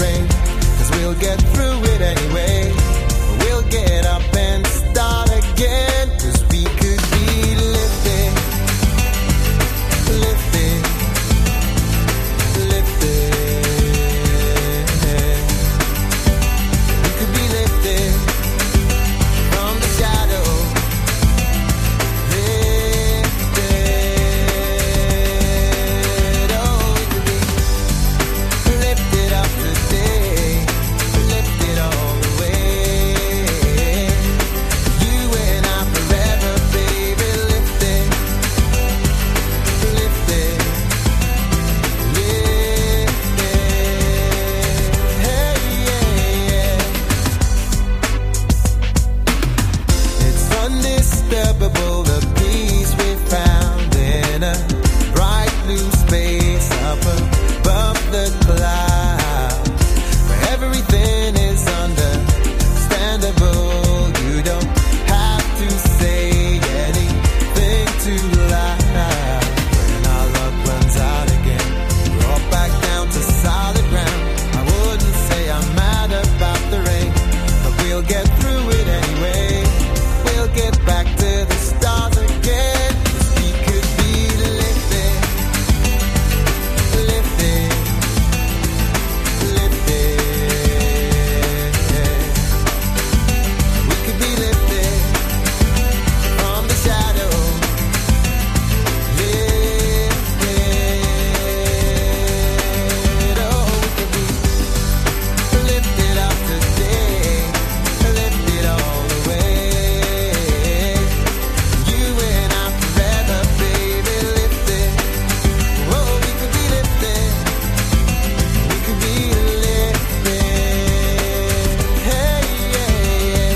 indescribable, the peace we found in a bright blue space up above the clouds, where everything is understandable. You don't have to say anything too loud. When our luck runs out again, we're all back down to solid ground. I wouldn't say I'm mad about the rain, but we'll get through it anyway. We'll get back to the stars again. 'Cause we could be lifted, lifted, lifted. We could be lifted from the shadow, lifted. Oh, we could be lifted up today, lifted all the way. You and I forever, baby, lifted. Oh, we could be lifted. We could be lifted. Hey, yeah, yeah.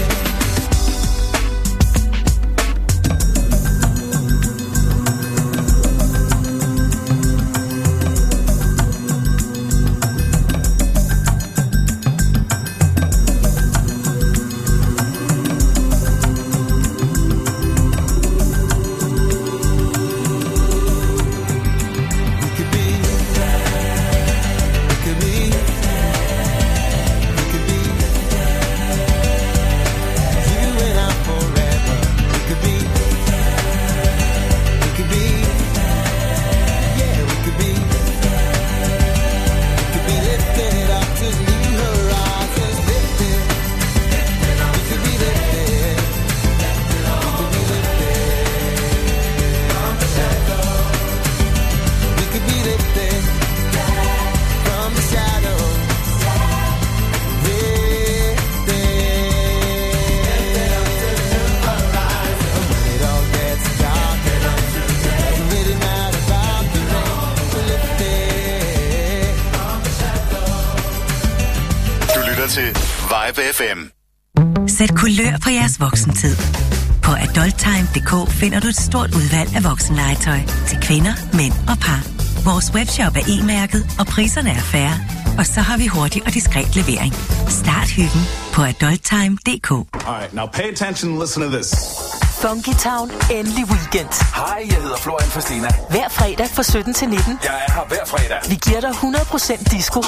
Til Vibe FM. Sæt kulør på jeres voksentid. På adulttime.dk finder du et stort udvalg af voksenlegetøj til kvinder, mænd og par. Vores webshop er e-mærket, og priserne er fair. Og så har vi hurtig og diskret levering. Start hyggen på adulttime.dk. Alright, now pay attention and listen to this. Funky Town, endelig weekend. Hej, jeg hedder Florian Fastina. Hver fredag fra 17 til 19. Jeg er her hver fredag. Vi giver dig 100% disco.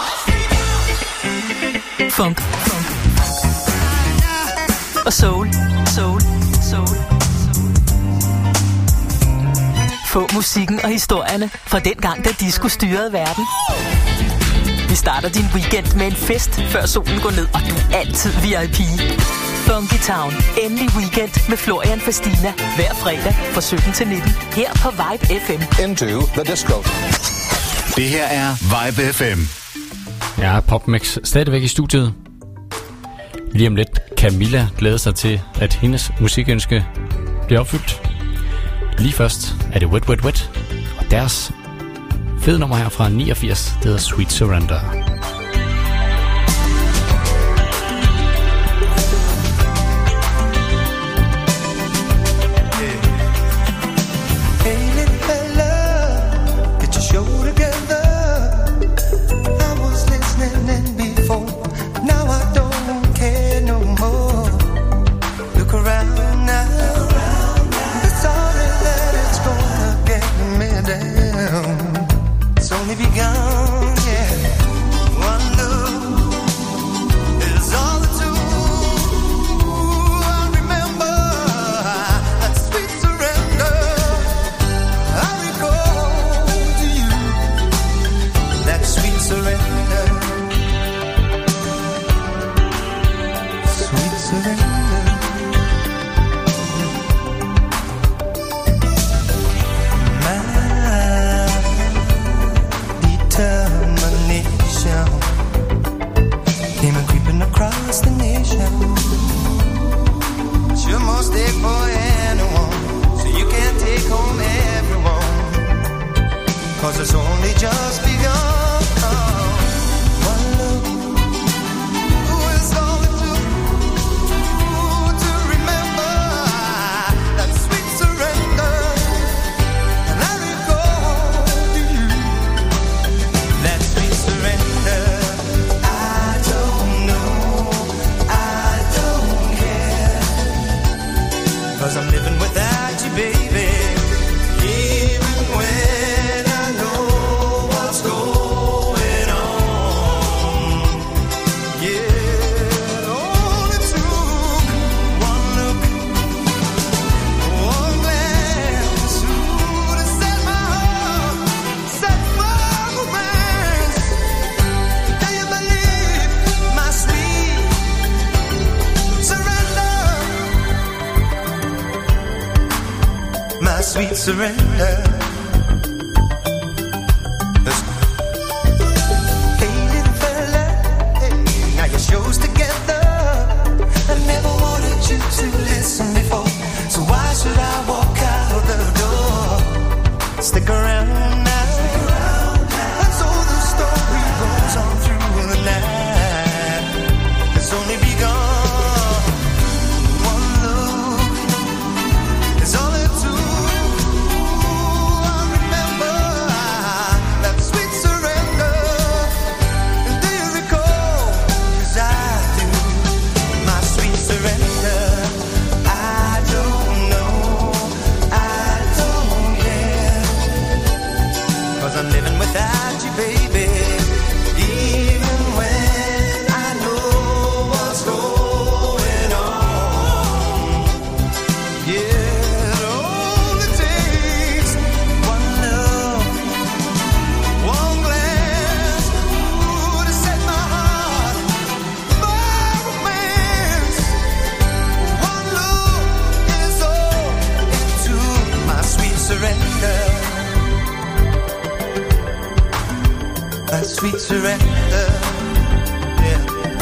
Funk. Og soul. Få musikken og historierne fra den gang, da disco styrede verden. Vi starter din weekend med en fest, før solen går ned, og du er altid VIP. Funky Town, endelig weekend med Florian Fastina. Hver fredag fra 17 til 19. Her på Vibe FM. Into the disco. Det her er Vibe FM. Ja, PopMix stadigvæk i studiet. Lige om lidt Camilla glæder sig til, at hendes musikønske bliver opfyldt. Lige først er det Wet Wet Wet, og deres fede nummer her fra 89, det hedder Sweet Surrender. It's only begun, yeah. 'cause I'm living without you, baby. Even when I know what's going on. Yeah, it only took one look, one glance to set my heart, set my romance. Do you believe my sweet surrender? My sweet surrender. Hey, little fella, hey, now your show's together. I never wanted you to listen before, so why should I walk out the door? Stick around now, and so the story goes on through the night. It's only begun. One look is all it took. I remember that sweet surrender. And do you recall? 'Cause I do. My sweet surrender. I don't know, I don't care. 'Cause I'm living without you, baby. Even when I know what's going on. Yeah, it only takes one look, one glance, ooh, to set my heart, my romance. One look is all it took. My sweet surrender. My sweet surrender. Yeah.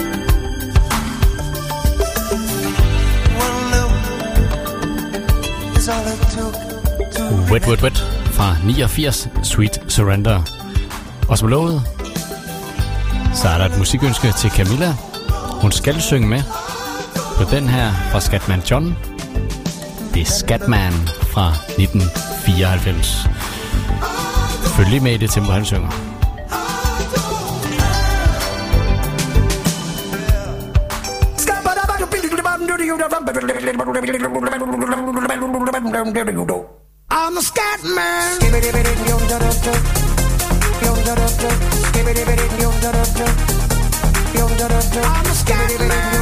One look is all it took to Wet, wet, wet fra 89, Sweet Surrender. Og som lovet, så er der et musikønske til Camilla. Hun skal synge med på den her fra Scatman John. Det er Scatman fra 1994. Følg lige med i det tempo, han synger. I'm a scat man. I'm a scat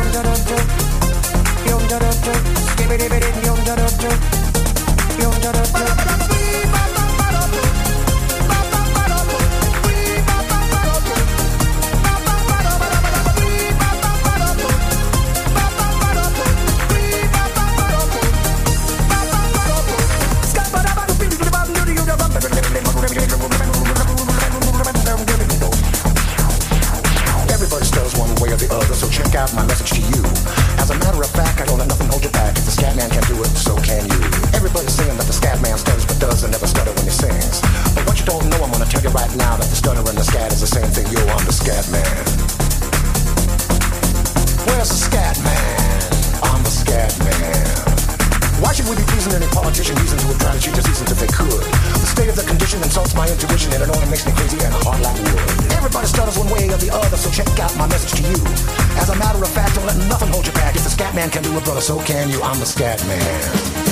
Everybody stutters one way or the other, so check out my message to you. As a matter of fact, I don't let nothing hold you back. If the scat man can do it, so can you. Everybody's saying that the scat man stutters but doesn't never stutter when he sings. But what you don't know, I'm gonna tell you right now that the stutter and the scat is the same thing. Yo, I'm the scat man. Where's the scat man? I'm the scat man. Why should we be pleasing any politician using to try to cheat the seasons if they could? The state of the condition insults my intuition and it only makes me crazy and hard like wood. Everybody stutters one way or the other, so check out my message to you. As a matter of fact, don't let nothing hold you back. If the scat man can do it, brother, so can you. I'm the scat man.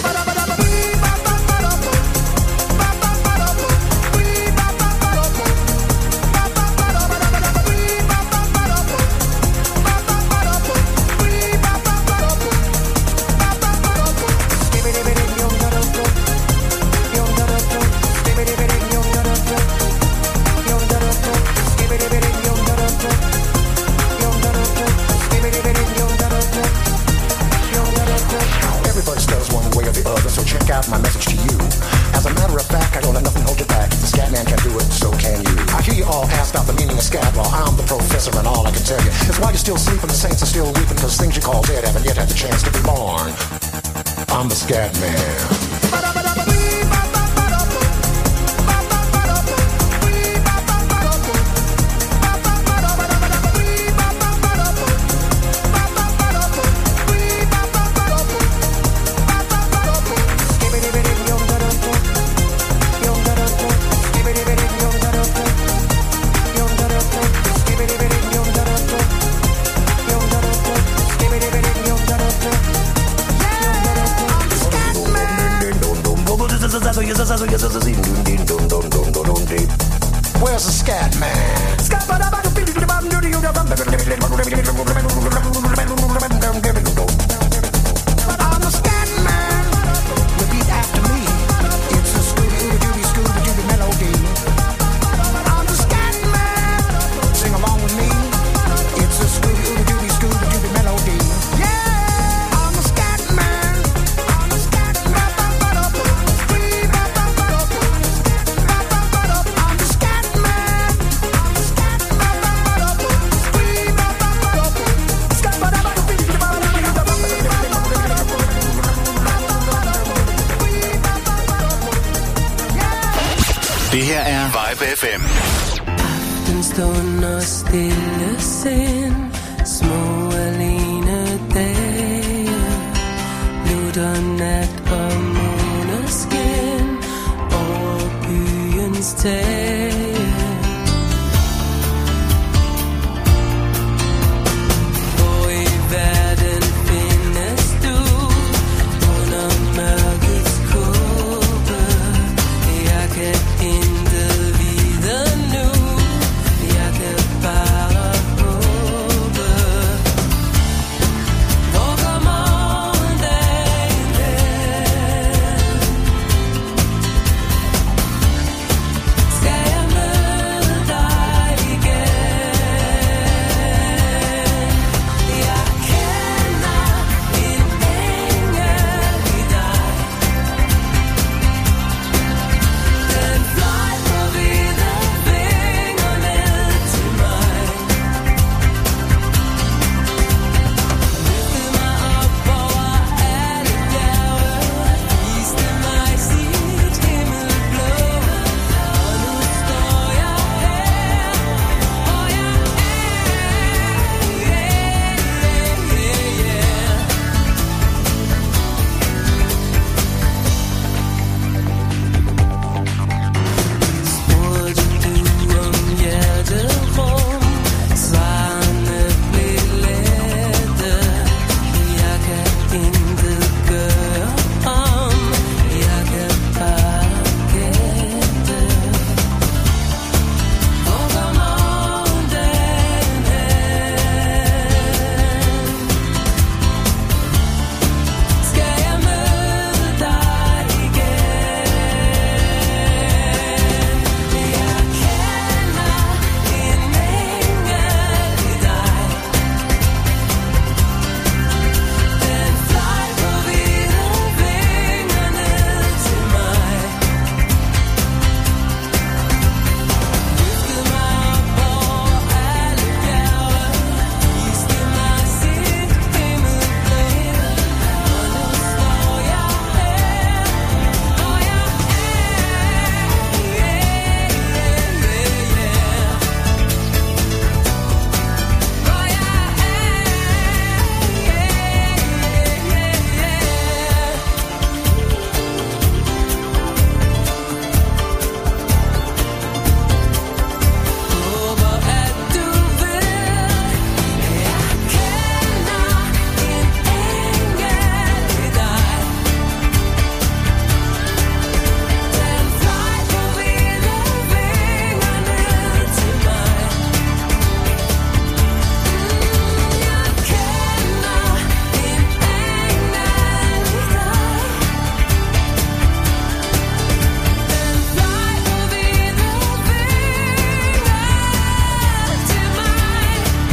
Everybody stutters one way or the other, so check out my message to you. As a matter of fact, I don't let nothing hold you back. If the scat man can do it, so can you. I hear you all ask out the meaning of scat. Well, I'm the professor and all I can tell you is why you're still sleeping, the saints are still weeping, cause things you call dead haven't yet had the chance to be born. I'm the scat man. Where's the scat man? I'm the scat man. Repeat after me. It's a Scooby-Dooby melody. I'm the scat man. Sing along with me. It's a Scooby-Dooby melody. Yeah, I'm the scat man. I'm the scat man. I'm the scat man. Det her er Vibe FM. Aftenstund og stille sind, små alene dage, lutter nat og måneskin over byens tage. Hvor i verden findes du under mørkets kåbe? Jeg kan intet vide nu, jeg kan bare håbe. Hvor går morgendagen hen? Skal jeg møde dig igen? Jeg kender en engel i dig. Den fløj på hvide vinger ned til mig. Løftede mig op over alle bjerge, viste mig sit himmelblå. Og nu står jeg her, hvor jeg Spurgte du om hjerterum, svarene blev lette. Jeg kan intet gøre om, jeg kan bare gætte. Hvor går morgendagen hen? Skal jeg møde dig igen? Jeg kender en engel i dig. Den fløj på hvide vinger ned til mig. Løftede mig op over alle bjerge, viste mig sit himmelblå. Og nu står jeg her, hvor jeg håber, at du ved, jeg kender en engel i dig. Den fløj på hvide vinger ned til mig. Jeg kender en engel i dig. Den fløj på hvide vinger til mig.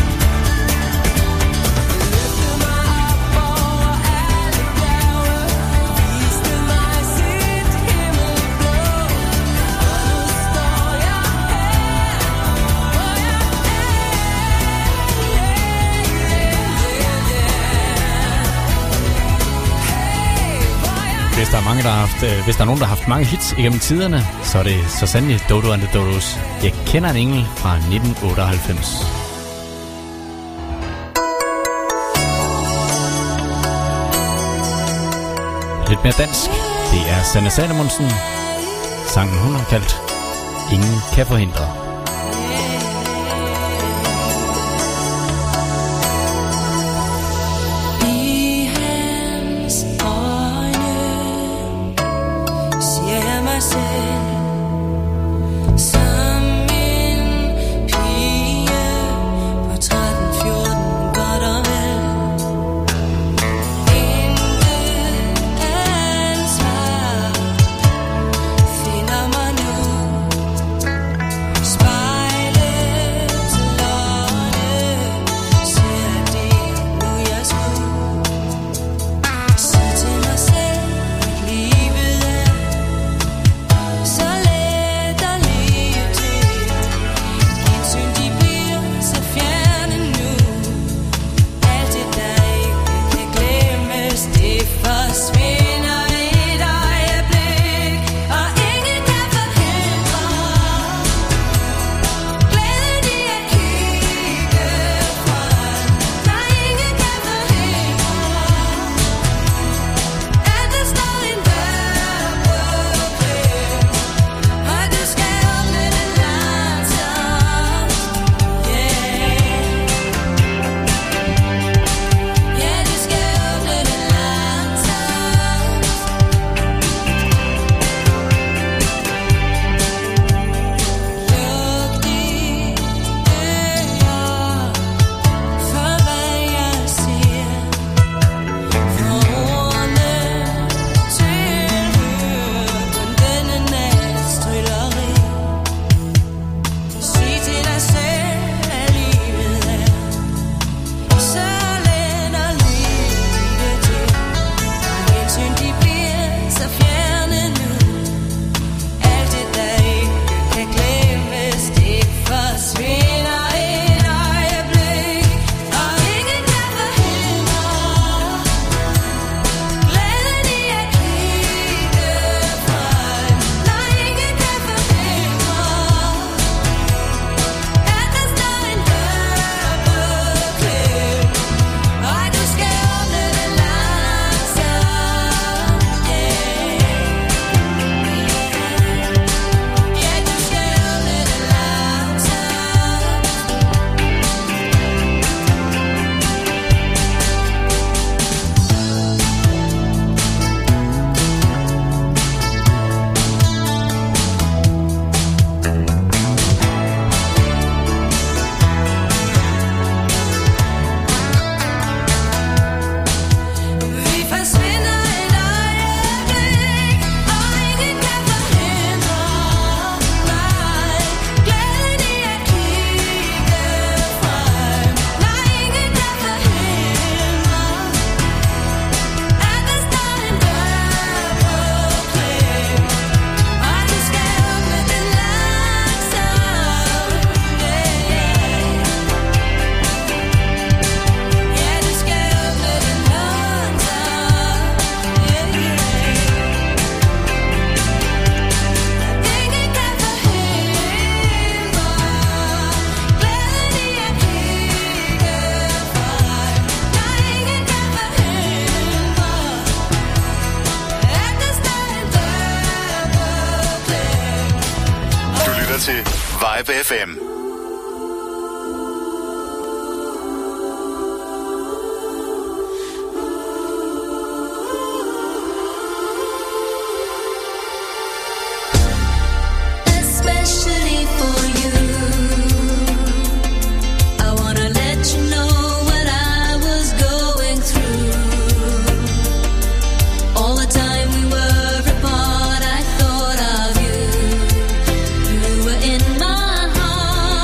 Løftede mig op over alle bjerge, viste mig sit himmelblå. Og nu står jeg her, hvor jeg Hvis der er nogen, der har haft mange hits igennem tiderne, så er det så sandelig Dodo and the Dodos. Jeg kender en engel fra 1998. Lidt mere dansk. Det er Sanne Salomonsen. Sangen hun har kaldt Ingen kan forhindre. I hans øjne ser jeg mig til Vibe FM. Especially for you, I wanna let you know what I was going through. All the time we were apart, I thought of you. You were in my heart.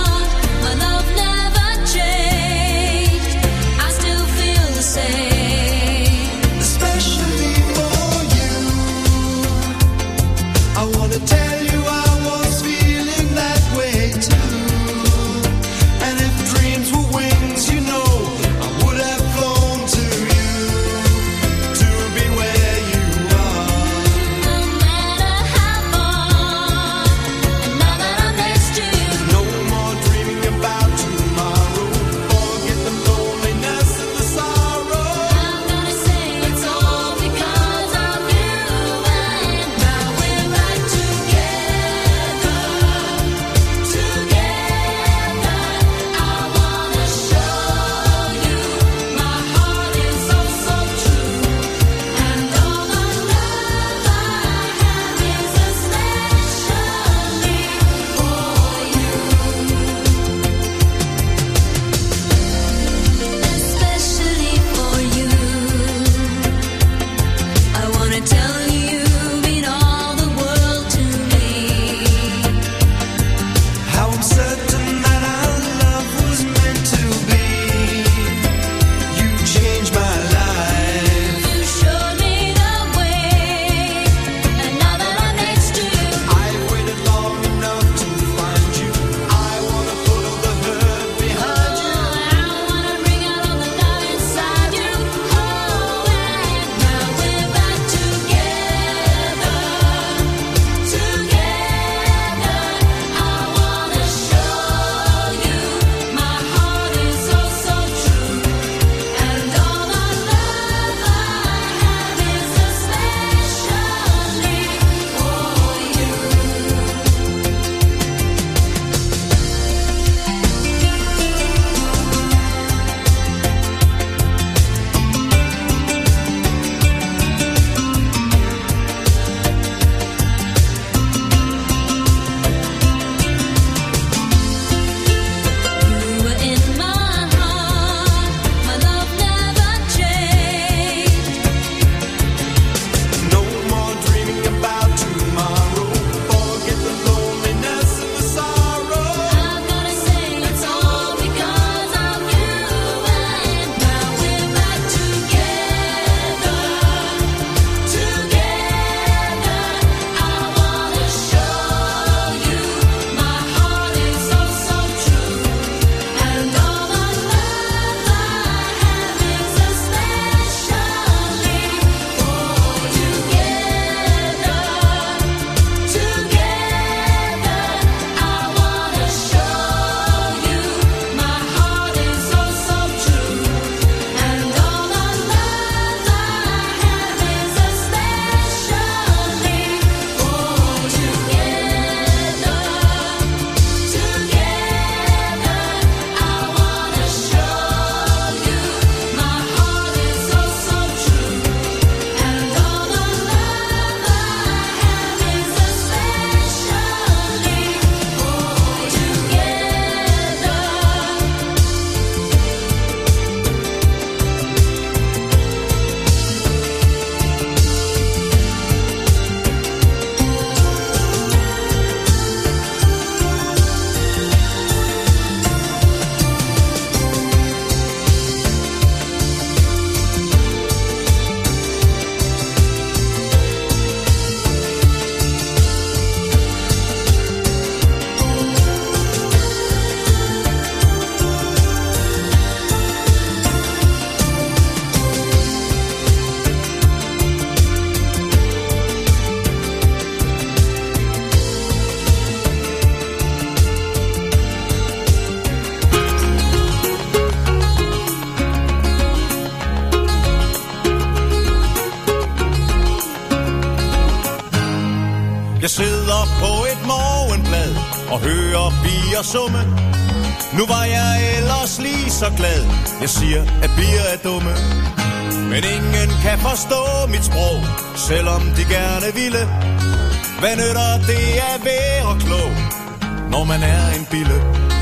Jeg sidder på et morgenblad og hører bier summe. Nu var jeg ellers lige så glad. Jeg siger, at bier er dumme. Men ingen kan forstå mit sprog, selvom de gerne ville. Hvad nytter det at være klog, når man er en bille?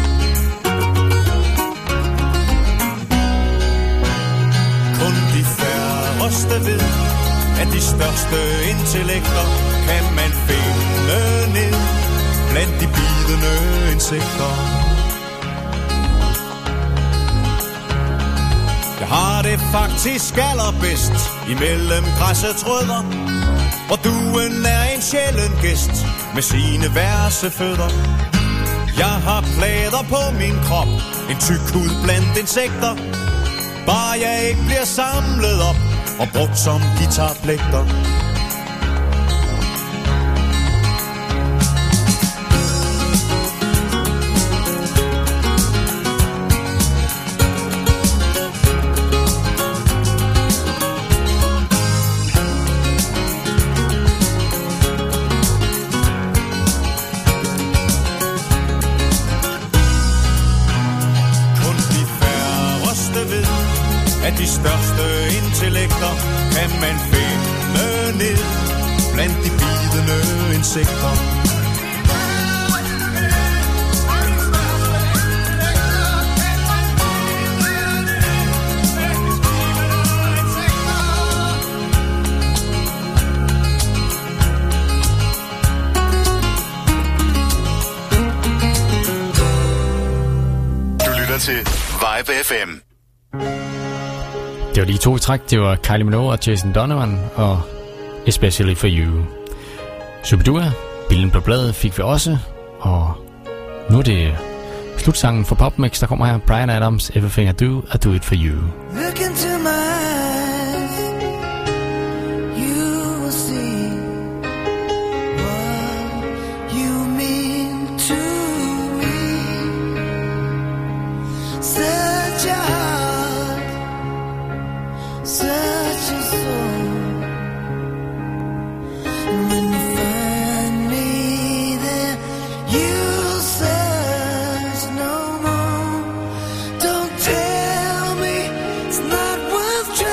Kun de færreste ved, at de største intellekter kan man finde ned blandt de bidende insekter. Jeg har det faktisk allerbedst imellem græssets rødder, hvor duen er en sjælden gæst med sine værse fødder. Jeg har plader på min krop, en tyk hud blandt insekter. Bare jeg ikke bliver samlet op og brugt som guitarplægter. De største intellekter kan man finde ned blandt de bidende insekter. Du lytter til Vibe FM. Det var lige to i træk. Det var Kylie Minogue og Jason Donovan og Especially For You. Superdua, Billen på bladet fik vi også. Og nu er det slutsangen for PopMix, der kommer her. Bryan Adams, Everything I Do It For You. Look into my eyes, you will see what you mean to me. Such a heart, such a soul. And when you find me there, you'll search no more. Don't tell me it's not worth trying.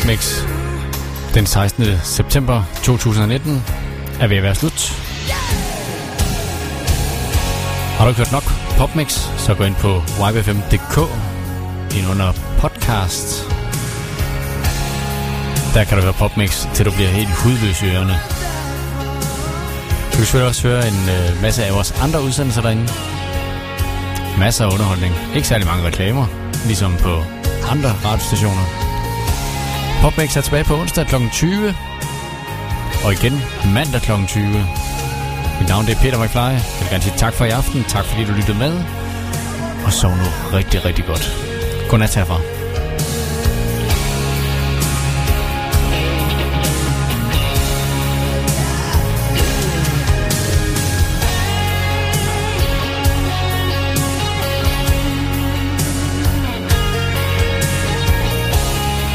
PopMix den 16. september 2019 er ved at være slut. Har du ikke hørt nok PopMix, så gå ind på vibefm.dk ind under podcast. Der kan du høre PopMix, til du bliver helt hudløs i ørerne. Du kan selvfølgelig også høre en masse af vores andre udsendelser derinde. Masser af underholdning. Ikke særlig mange reklamer, ligesom på andre radiostationer. PopMix er tilbage på onsdag kl. 20. Og igen mandag kl. 20. Mit navn det er Peter McFly. Jeg vil gerne sige tak for i aften. Tak fordi du lyttede med. Og sov nu rigtig, rigtig godt. Godnat herfra.